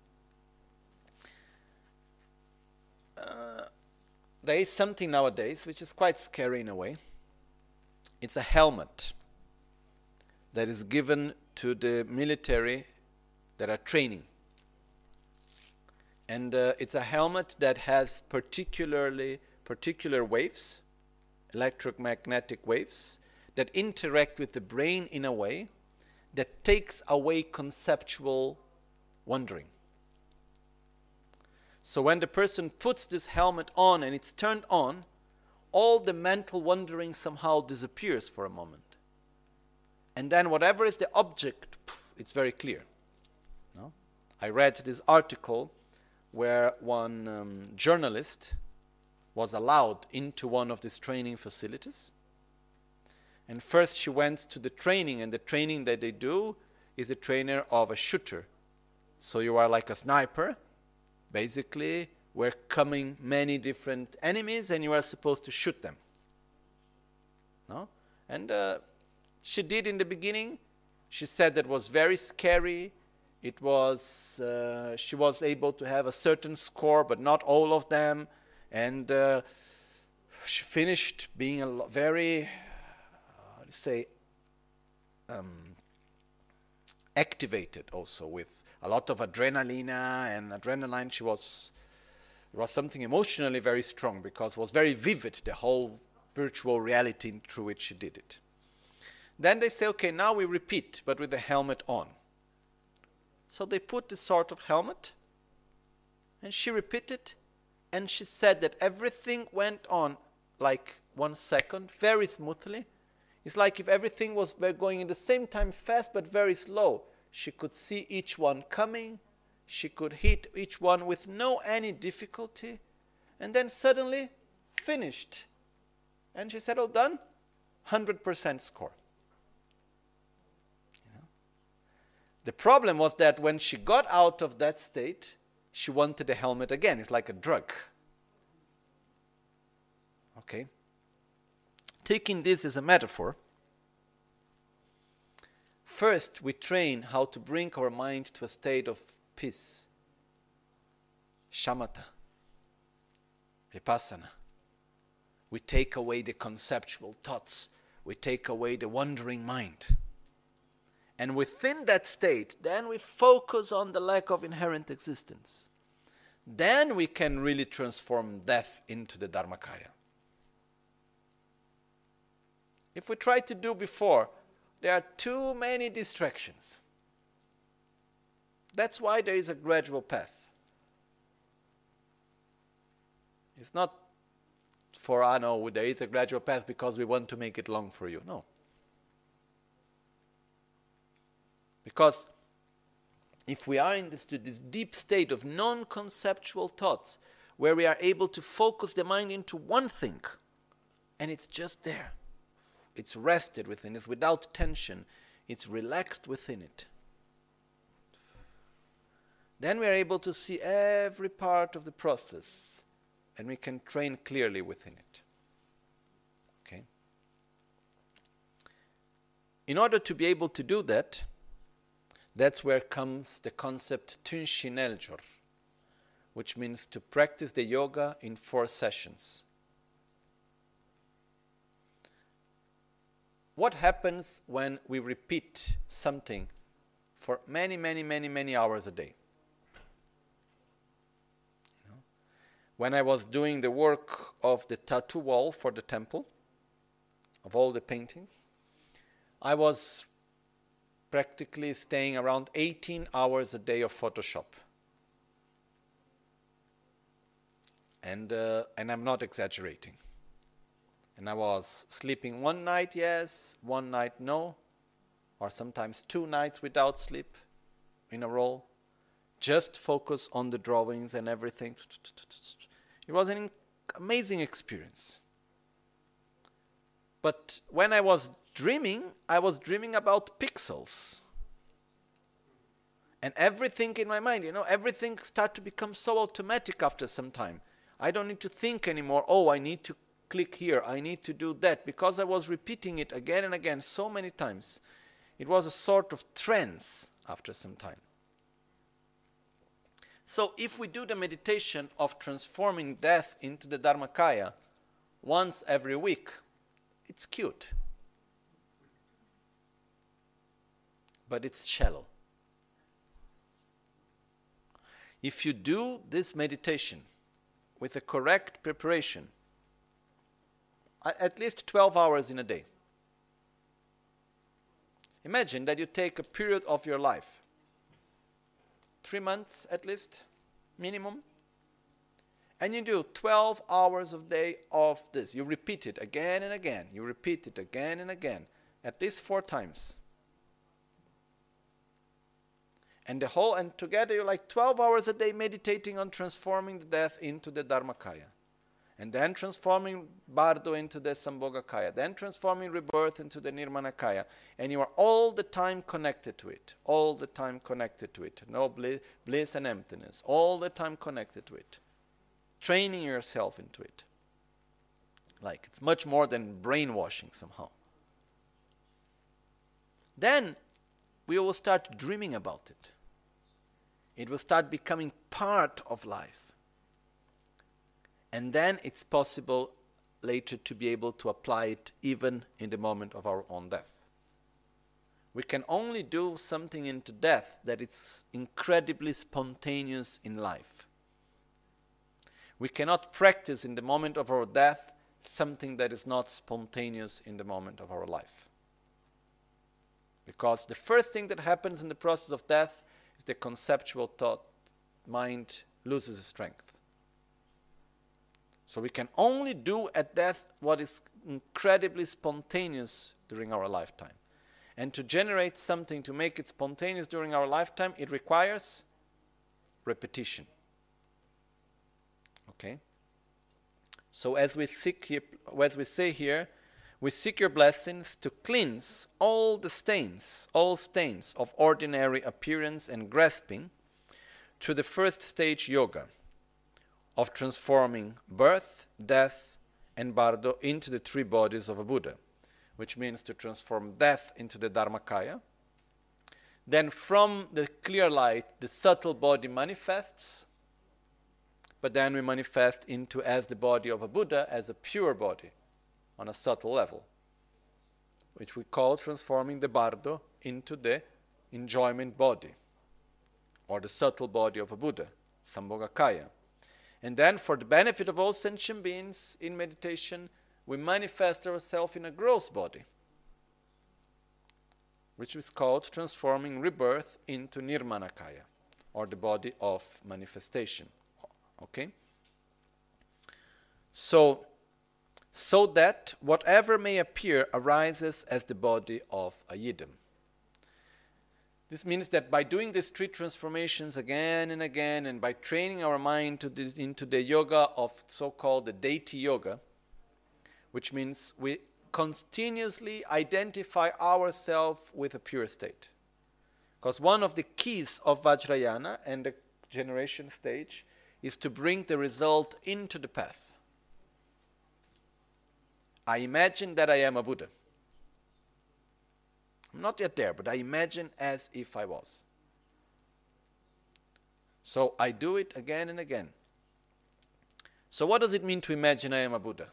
There is something nowadays which is quite scary in a way. It's a helmet that is given to the military that are training. And it's a helmet that has particular waves, electromagnetic waves, that interact with the brain in a way that takes away conceptual wandering. So when the person puts this helmet on and it's turned on, all the mental wandering somehow disappears for a moment. And then whatever is the object, it's very clear. No? I read this article where one journalist was allowed into one of these training facilities. And first she went to the training, and the training that they do is a trainer of a shooter. So you are like a sniper, basically, where coming many different enemies and you are supposed to shoot them. No? And she did in the beginning. She said that was very scary. It was, she was able to have a certain score, but not all of them. And she finished being a very, activated also with a lot of adrenaline and adrenaline. It was something emotionally very strong because it was very vivid, the whole virtual reality through which she did it. Then they say, okay, now we repeat, but with the helmet on. So they put this sort of helmet, and she repeated, and she said that everything went on like 1 second, very smoothly. It's like if everything was going in the same time fast, but very slow. She could see each one coming. She could hit each one with no any difficulty. And then suddenly, finished. And she said, oh, done, 100% score. The problem was that when she got out of that state, she wanted the helmet again. It's like a drug. Okay? Taking this as a metaphor, first we train how to bring our mind to a state of peace. Shamatha. Vipassana. We take away the conceptual thoughts. We take away the wandering mind. And within that state, then we focus on the lack of inherent existence. Then we can really transform death into the Dharmakaya. If we try to do before, there are too many distractions. That's why there is a gradual path. It's not for, there is a gradual path because we want to make it long for you. No. Because if we are in this deep state of non-conceptual thoughts, where we are able to focus the mind into one thing, and it's just there, it's rested within, it's without tension, it's relaxed within it, then we are able to see every part of the process, and we can train clearly within it. Okay? In order to be able to do that, that's where comes the concept Tunshin Eljor, which means to practice the yoga in 4 sessions. What happens when we repeat something for many, many, many, many hours a day? When I was doing the work of the tattoo wall for the temple, of all the paintings, I was practically staying around 18 hours a day of Photoshop. And I'm not exaggerating. And I was sleeping one night, yes, one night, no, or sometimes 2 nights without sleep in a row. Just focus on the drawings and everything. It was an amazing experience. But when I was dreaming about pixels. And everything in my mind, everything started to become so automatic after some time. I don't need to think anymore, I need to click here, I need to do that, because I was repeating it again and again so many times. It was a sort of trance after some time. So if we do the meditation of transforming death into the Dharmakaya once every week, it's cute. But it's shallow. If you do this meditation with the correct preparation, at least 12 hours in a day. Imagine that you take a period of your life, 3 months at least, minimum, and you do 12 hours a day of this. You repeat it again and again. You repeat it again and again, at least 4 times. And together you're like 12 hours a day meditating on transforming the death into the Dharmakaya. and then transforming Bardo into the Sambhogakaya, then transforming rebirth into the Nirmanakaya, and you are all the time connected to it, all the time connected to it, no bliss and emptiness, all the time connected to it, training yourself into it. Like, it's much more than brainwashing somehow. Then we will start dreaming about it. It will start becoming part of life. And then it's possible later to be able to apply it even in the moment of our own death. We can only do something into death that is incredibly spontaneous in life. We cannot practice in the moment of our death something that is not spontaneous in the moment of our life. Because the first thing that happens in the process of death is the conceptual thought mind loses strength. So we can only do at death what is incredibly spontaneous during our lifetime. And to generate something, to make it spontaneous during our lifetime, it requires repetition. Okay? So as we say here, we seek your blessings to cleanse all stains of ordinary appearance and grasping through the first stage yoga of transforming birth, death, and Bardo into the three bodies of a Buddha, which means to transform death into the Dharmakaya. Then from the clear light, the subtle body manifests, but then we manifest into as the body of a Buddha, as a pure body, on a subtle level, which we call transforming the Bardo into the enjoyment body, or the subtle body of a Buddha, Sambhogakaya. And then, for the benefit of all sentient beings in meditation, we manifest ourselves in a gross body, which is called transforming rebirth into Nirmanakaya, or the body of manifestation. Okay? So that whatever may appear arises as the body of a Yidam. This means that by doing these three transformations again and again, and by training our mind into the yoga of so-called the deity yoga, which means we continuously identify ourselves with a pure state. Because one of the keys of Vajrayana and the generation stage is to bring the result into the path. I imagine that I am a Buddha. I'm not yet there, but I imagine as if I was. So I do it again and again. So what does it mean to imagine I am a Buddha?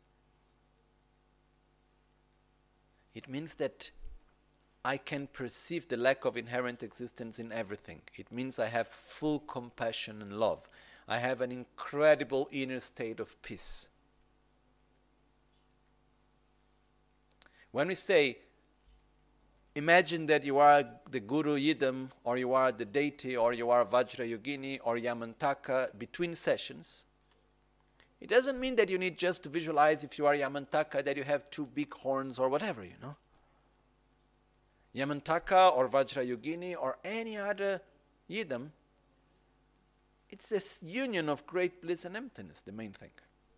It means that I can perceive the lack of inherent existence in everything. It means I have full compassion and love. I have an incredible inner state of peace. When we say, imagine that you are the Guru Yidam, or you are the deity, or you are Vajrayogini, or Yamantaka between sessions, it doesn't mean that you need just to visualize if you are Yamantaka that you have two big horns or whatever, you know. Yamantaka or Vajrayogini or any other Yidam, it's this union of great bliss and emptiness, the main thing.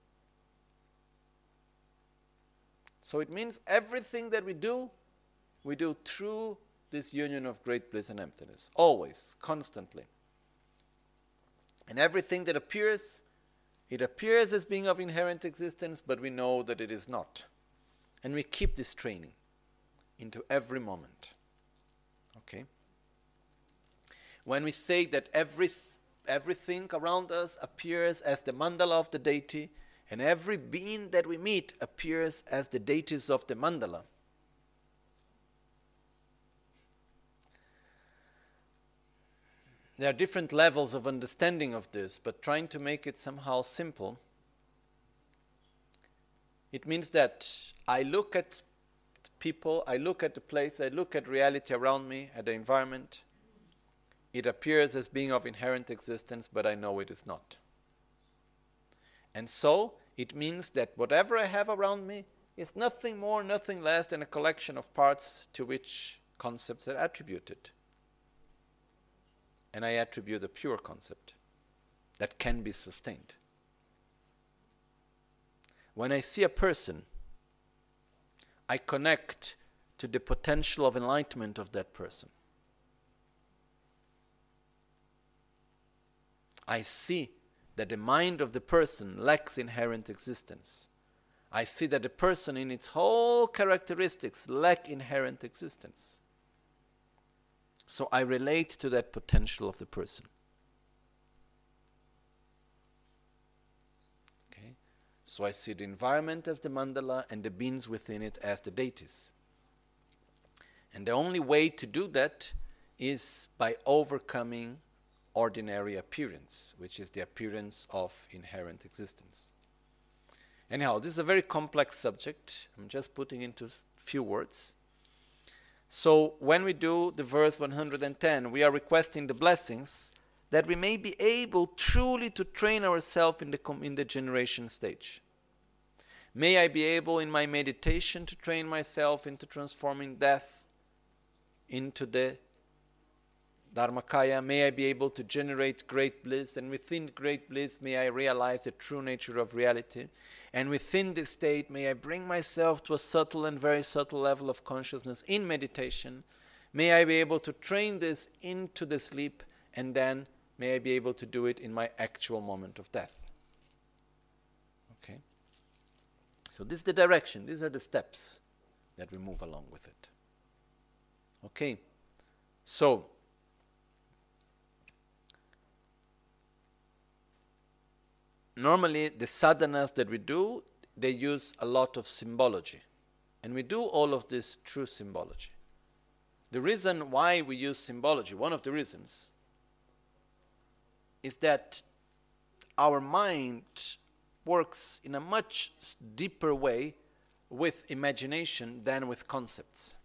So it means everything that we do through this union of great bliss and emptiness, always, constantly. And everything that appears, it appears as being of inherent existence, but we know that it is not. And we keep this training into every moment. Okay? When we say that everything around us appears as the mandala of the deity, and every being that we meet appears as the deities of the mandala, there are different levels of understanding of this, but trying to make it somehow simple, it means that I look at people, I look at the place, I look at reality around me, at the environment. It appears as being of inherent existence, but I know it is not. And so, it means that whatever I have around me is nothing more, nothing less than a collection of parts to which concepts are attributed. And I attribute a pure concept that can be sustained. When I see a person, I connect to the potential of enlightenment of that person. I see that the mind of the person lacks inherent existence. I see that the person in its whole characteristics lack inherent existence. So I relate to that potential of the person. Okay? So I see the environment as the mandala and the beings within it as the deities. And the only way to do that is by overcoming ordinary appearance, which is the appearance of inherent existence. Anyhow, this is a very complex subject. I'm just putting into few words. So when we do the verse 110, we are requesting the blessings that we may be able truly to train ourselves in the generation stage. May I be able in my meditation to train myself into transforming death into the Dharmakaya. May I be able to generate great bliss, and within great bliss may I realize the true nature of reality. And within this state may I bring myself to a subtle and very subtle level of consciousness in meditation. May I be able to train this into the sleep, and then may I be able to do it in my actual moment of death. Okay? So this is the direction, these are the steps that we move along with it. Okay? So, normally the sadhanas that we do, they use a lot of symbology. And we do all of this through symbology. The reason why we use symbology, one of the reasons, is that our mind works in a much deeper way with imagination than with concepts.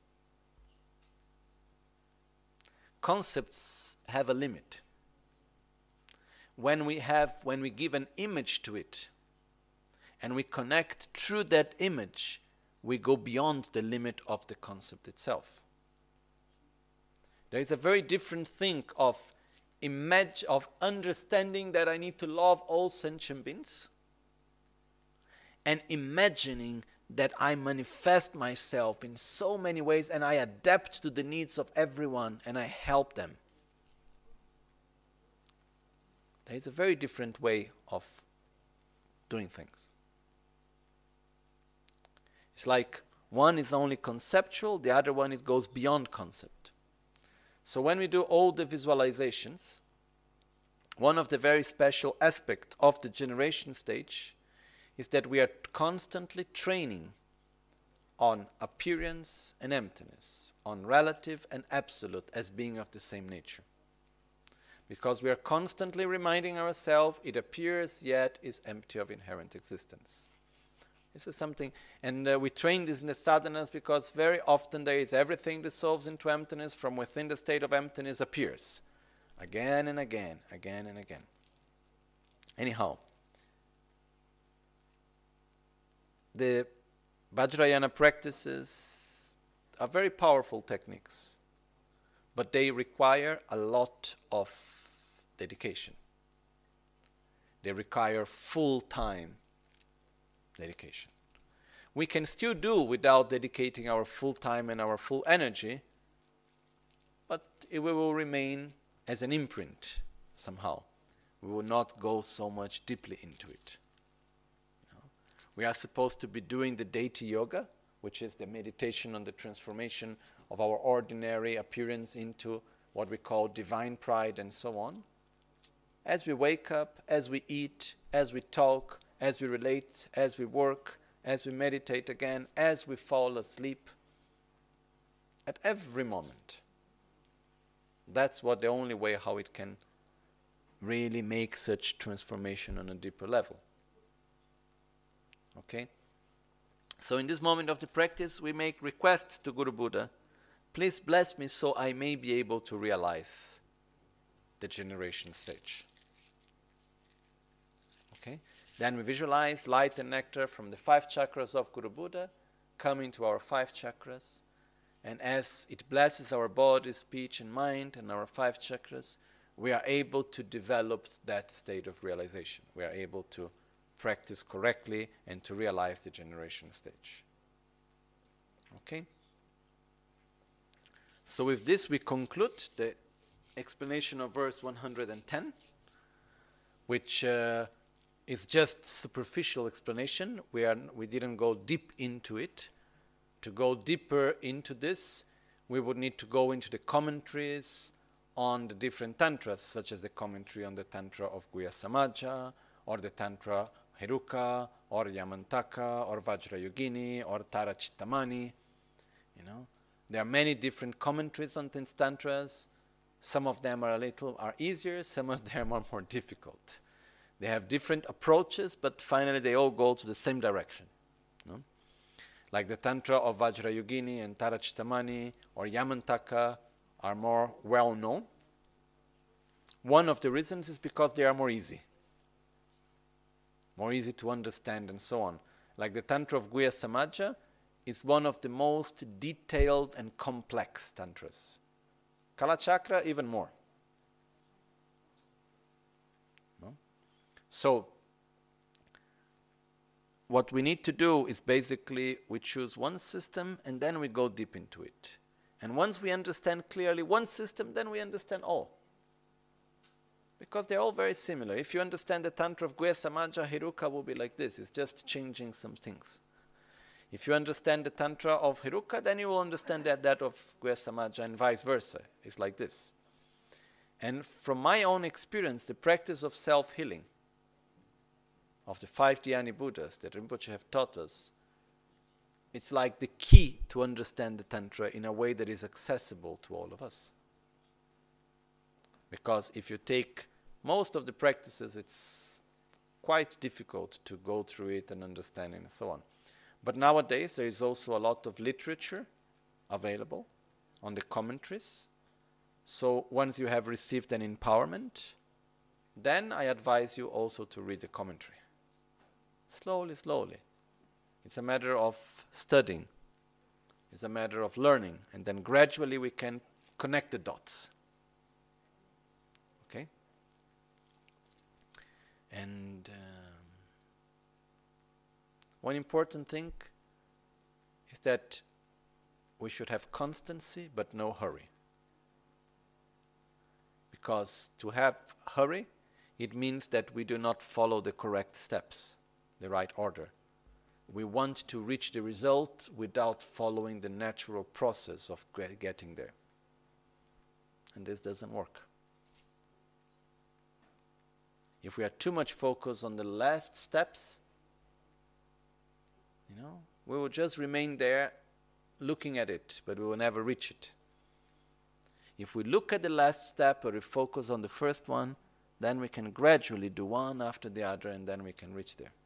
Concepts have a limit. When we give an image to it and we connect through that image, we go beyond the limit of the concept itself. There is a very different thing of understanding that I need to love all sentient beings and imagining that I manifest myself in so many ways and I adapt to the needs of everyone and I help them. There is a very different way of doing things. It's like one is only conceptual, the other one it goes beyond concept. So when we do all the visualizations, one of the very special aspects of the generation stage is that we are constantly training on appearance and emptiness, on relative and absolute as being of the same nature. Because we are constantly reminding ourselves it appears yet is empty of inherent existence. This is something, and we train this in the sadhanas because very often there is everything dissolves into emptiness, from within the state of emptiness appears. Again and again, again and again. Anyhow, the Vajrayana practices are very powerful techniques, but they require a lot of dedication. They require full-time dedication. We can still do without dedicating our full time and our full energy, but it will remain as an imprint somehow. We will not go so much deeply into it. We are supposed to be doing the deity yoga, which is the meditation on the transformation of our ordinary appearance into what we call divine pride and so on. As we wake up, as we eat, as we talk, as we relate, as we work, as we meditate again, as we fall asleep, at every moment. That's what the only way how it can really make such transformation on a deeper level. Okay? So in this moment of the practice, we make requests to Guru Buddha, please bless me so I may be able to realize the generation stage. Okay? Then we visualize light and nectar from the 5 chakras of Guru Buddha coming to our 5 chakras. And as it blesses our body, speech, and mind, and our 5 chakras, we are able to develop that state of realization. We are able to practice correctly and to realize the generation stage. Okay? So with this we conclude the explanation of verse 110, which is just superficial explanation. We didn't go deep into it. To go deeper into this, we would need to go into the commentaries on the different tantras, such as the commentary on the tantra of Guhya Samaja, or the tantra Heruka, or Yamantaka, or Vajrayogini, or Tara Chittamani. You know, there are many different commentaries on these tantras. Some of them are easier, some of them are more difficult. They have different approaches, but finally they all go to the same direction. No? Like the tantra of Vajrayogini and Tara Chittamani or Yamantaka are more well known. One of the reasons is because they are more easy to understand and so on. Like the tantra of Guhya Samaja is one of the most detailed and complex tantras. Kalachakra even more. No? So, what we need to do is basically we choose one system and then we go deep into it. And once we understand clearly one system, then we understand all. Because they're all very similar. If you understand the tantra of Guhya Samaja, Heruka will be like this. It's just changing some things. If you understand the tantra of Heruka, then you will understand that of Guhya Samaja and vice versa. It's like this. And from my own experience, the practice of self-healing, of the 5 Dhyani Buddhas that Rinpoche have taught us, it's like the key to understand the Tantra in a way that is accessible to all of us. Because if you take most of the practices, it's quite difficult to go through it and understand it and so on. But nowadays there is also a lot of literature available on the commentaries. So once you have received an empowerment, then I advise you also to read the commentary. Slowly, slowly. It's a matter of studying. It's a matter of learning. And then gradually we can connect the dots. Okay? And one important thing is that we should have constancy but no hurry. Because to have hurry, it means that we do not follow the correct steps, the right order. We want to reach the result without following the natural process of getting there. And this doesn't work. If we are too much focused on the last steps, we will just remain there looking at it, but we will never reach it. If we look at the last step or we focus on the first one, then we can gradually do one after the other and then we can reach there.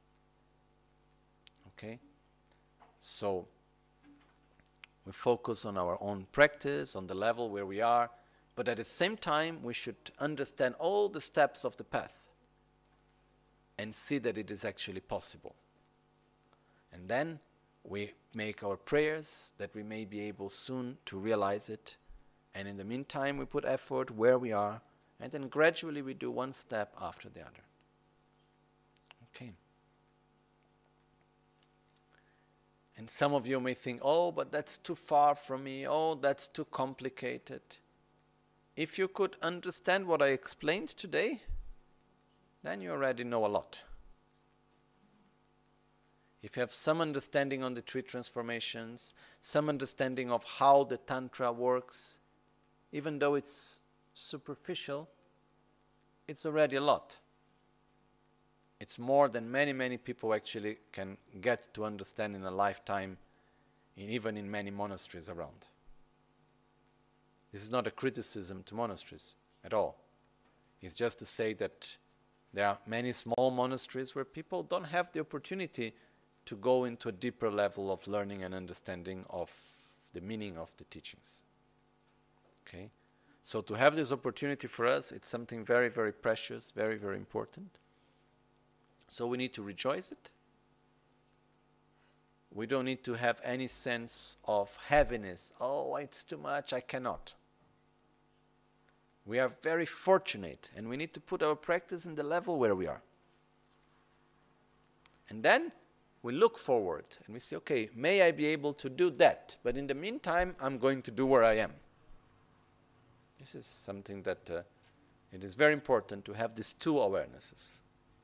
Okay? So, we focus on our own practice, on the level where we are, but at the same time we should understand all the steps of the path and see that it is actually possible. And then we make our prayers that we may be able soon to realize it. And in the meantime, we put effort where we are, and then gradually we do one step after the other. Okay. And some of you may think, oh, but that's too far from me. Oh, that's too complicated. If you could understand what I explained today, then you already know a lot. If you have some understanding on the 3 transformations, some understanding of how the Tantra works, even though it's superficial, it's already a lot. It's more than many, many people actually can get to understand in a lifetime, even in many monasteries around. This is not a criticism to monasteries at all. It's just to say that there are many small monasteries where people don't have the opportunity to go into a deeper level of learning and understanding of the meaning of the teachings. Okay? So to have this opportunity for us, it's something very, very precious, very, very important. So we need to rejoice it. We don't need to have any sense of heaviness. Oh, it's too much, I cannot. We are very fortunate, and we need to put our practice in the level where we are. And then we look forward and we say, okay, may I be able to do that, but in the meantime, I'm going to do where I am. This is something that it is very important to have these two awarenesses.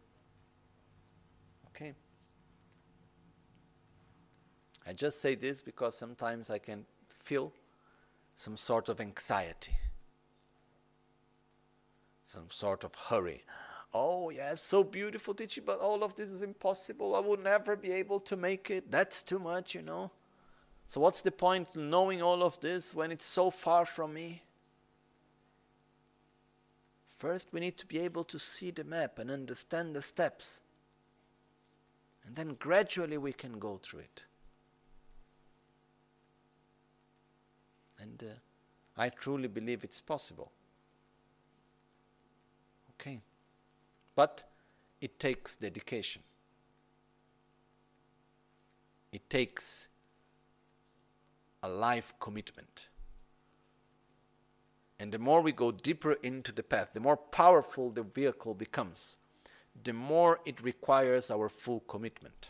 Okay? I just say this because sometimes I can feel some sort of anxiety, some sort of hurry. Oh, yes, so beautiful teaching, but all of this is impossible. I will never be able to make it. That's too much, you know. So what's the point in knowing all of this when it's so far from me? First, we need to be able to see the map and understand the steps. And then gradually we can go through it. And I truly believe it's possible. Okay. But it takes dedication. It takes a life commitment. And the more we go deeper into the path, the more powerful the vehicle becomes, the more it requires our full commitment.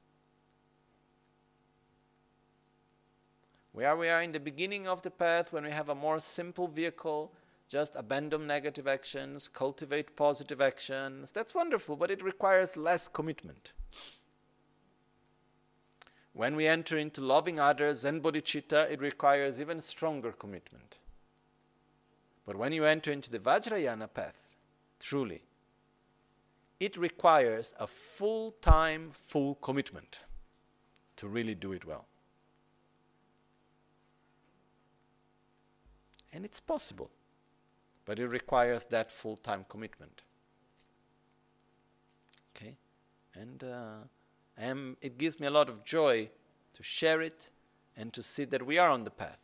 Where we are in the beginning of the path, when we have a more simple vehicle, just abandon negative actions, cultivate positive actions. That's wonderful, but it requires less commitment. When we enter into loving others and bodhicitta, it requires even stronger commitment. But when you enter into the Vajrayana path, truly, it requires a full-time, full commitment to really do it well. And it's possible. But it requires that full-time commitment. Okay? And it gives me a lot of joy to share it and to see that we are on the path.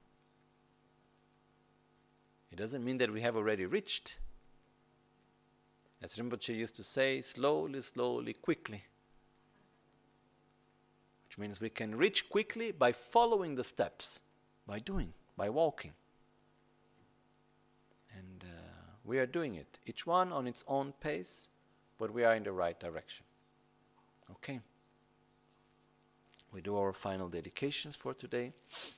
It doesn't mean that we have already reached. As Rinpoche used to say, slowly, slowly, quickly. Which means we can reach quickly by following the steps, by doing, by walking. And we are doing it, each one on its own pace, but we are in the right direction. Okay. We do our final dedications for today.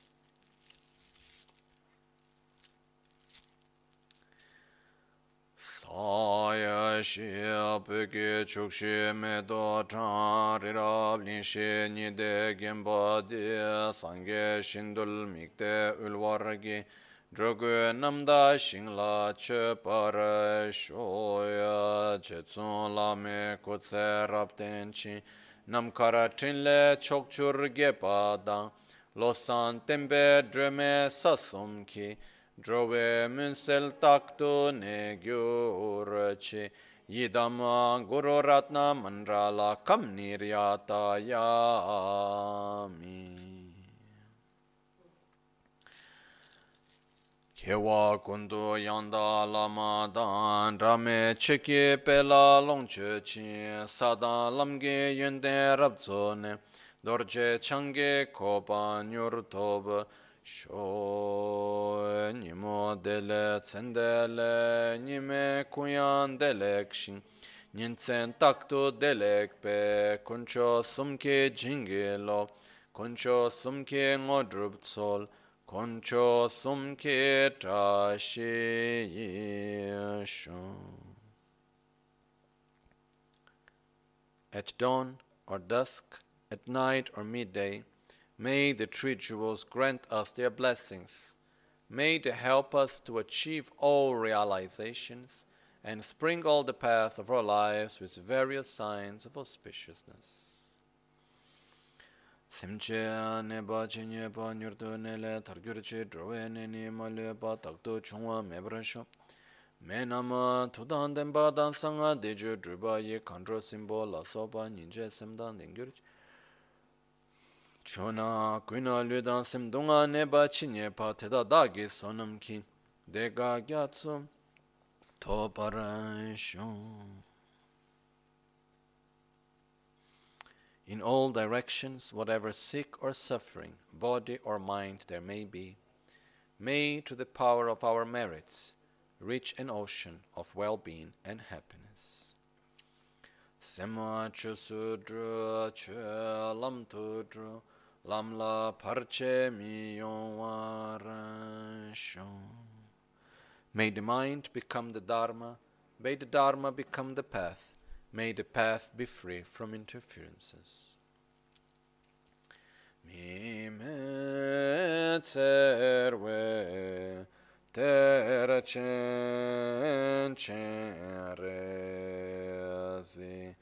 Saya shia peke chukshi medo chan rirab linshi nide gemba de sangye shindul mikte ulwaragi drogu namda shingla che para shoya chetsun lame kutse raptenchi namkara trinle chokchur gepa dang losan tembe dreme sasumki drove munsel takto ne gyurche yidama guru ratna mandrala kam niryata yami kewa kundu yanda lama dan rame cheke pela longche chi sadan lamge yende rabzone dorje change kopa nyurtob sho nimo dele tsendele nime kuyan delekshin ninsen takto delekpe kuncho sumke jingelo kuncho sumke ngodrubtsol kuncho sumke trashi yesho. At dawn or dusk, at night or midday, may the three jewels grant us their blessings. May they help us to achieve all realizations and sprinkle the path of our lives with various signs of auspiciousness. Simche neba chenye pa nyurtu nele targyurche drowe neni malye pa takto chungwa mebrasho. Menama tudan denpa dan sanga deju druba ye kandro simbo la sopa ninje semdan dengyurche. Chona kuina ludan simdunga neba chinye pa teda dagi sonamki dega gyatsu to parasho. In all directions, whatever sick or suffering, body or mind there may be, may, to the power of our merits, reach an ocean of well-being and happiness. Sema che sudra che lam tudra lam la parche mi shon. May the mind become the Dharma, may the Dharma become the path, may the path be free from interferences. Mi me tserwe tera chen chen rezi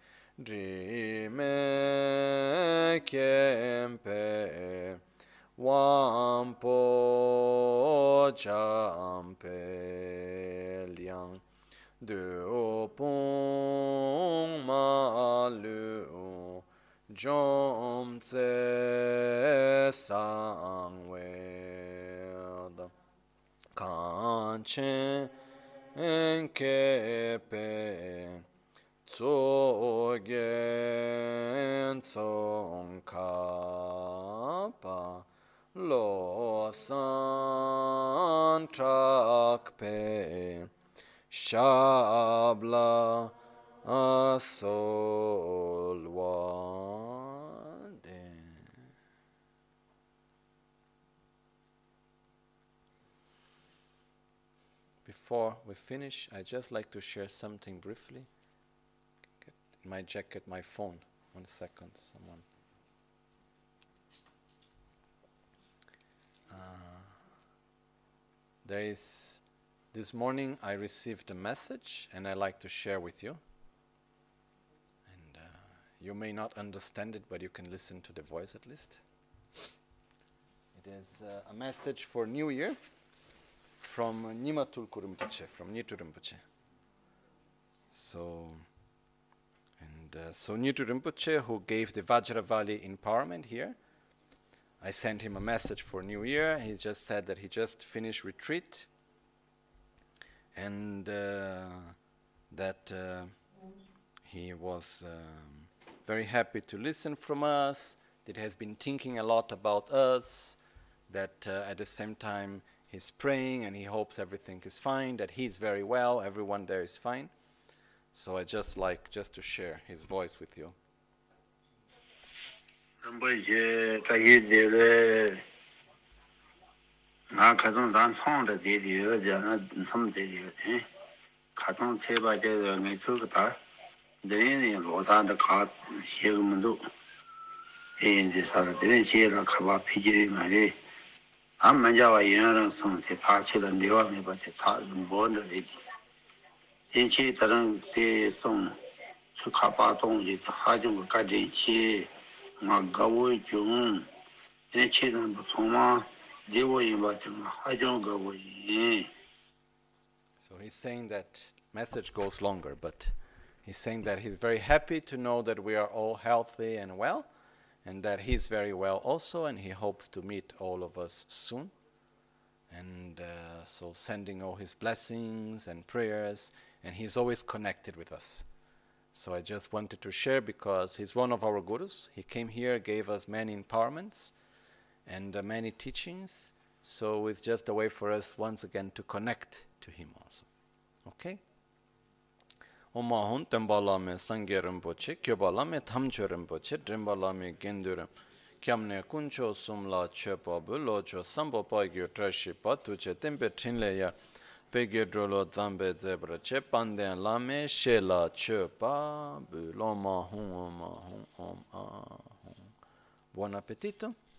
Drime kempe Wampo champe liang Duopong malu Jom tse sangweda Kanchen kepe Tsogen tsong kapa Lo san trakpe Shabla asolwade. Before we finish, I'd just like to share something briefly. Get in my jacket, my phone. 1 second, someone. This morning I received a message and I'd like to share with you. And you may not understand it, but you can listen to the voice at least. It is a message for New Year from Nyima Tulku Rinpoche, from Nitu Rinpoche. So Nitu Rinpoche, who gave the Vajravali empowerment here, I sent him a message for New Year. He just said that he just finished retreat and that he was very happy to listen from us, that he has been thinking a lot about us, that at the same time he's praying and he hopes everything is fine, that he's very well, everyone there is fine. So I just like to share his voice with you. Rinpoche tahi dele nga khatong dan thong da de de jana tham de de khatong cheba je ngai chu ka de ni lo san da kha xie ge mun du yin de sa de xie la kha ba phi ji ma le am man ja wa yin ran song se pha che da ne wa me ba che tha bo de de yin chi da ran de song chu kha ba dong ji ha jing ka de chi So he's saying that message goes longer, but he's saying that he's very happy to know that we are all healthy and well, and that he's very well also, and he hopes to meet all of us soon. And so sending all his blessings and prayers, and he's always connected with us. So I just wanted to share because he's one of our gurus. He came here, gave us many empowerments and many teachings. So it's just a way for us once again to connect to him also. Okay? Oma hun tembala me sangye rinpoche, kyobala me thamcho rinpoche, drimbala me gendurim. Kyamne kuncho sumla chepa bulocho sambo paigyo trashipa tuche tempe trinle ya. Pegye drolo zambe zebra che panden lame shela chepa buloma hum om. Buon appetito.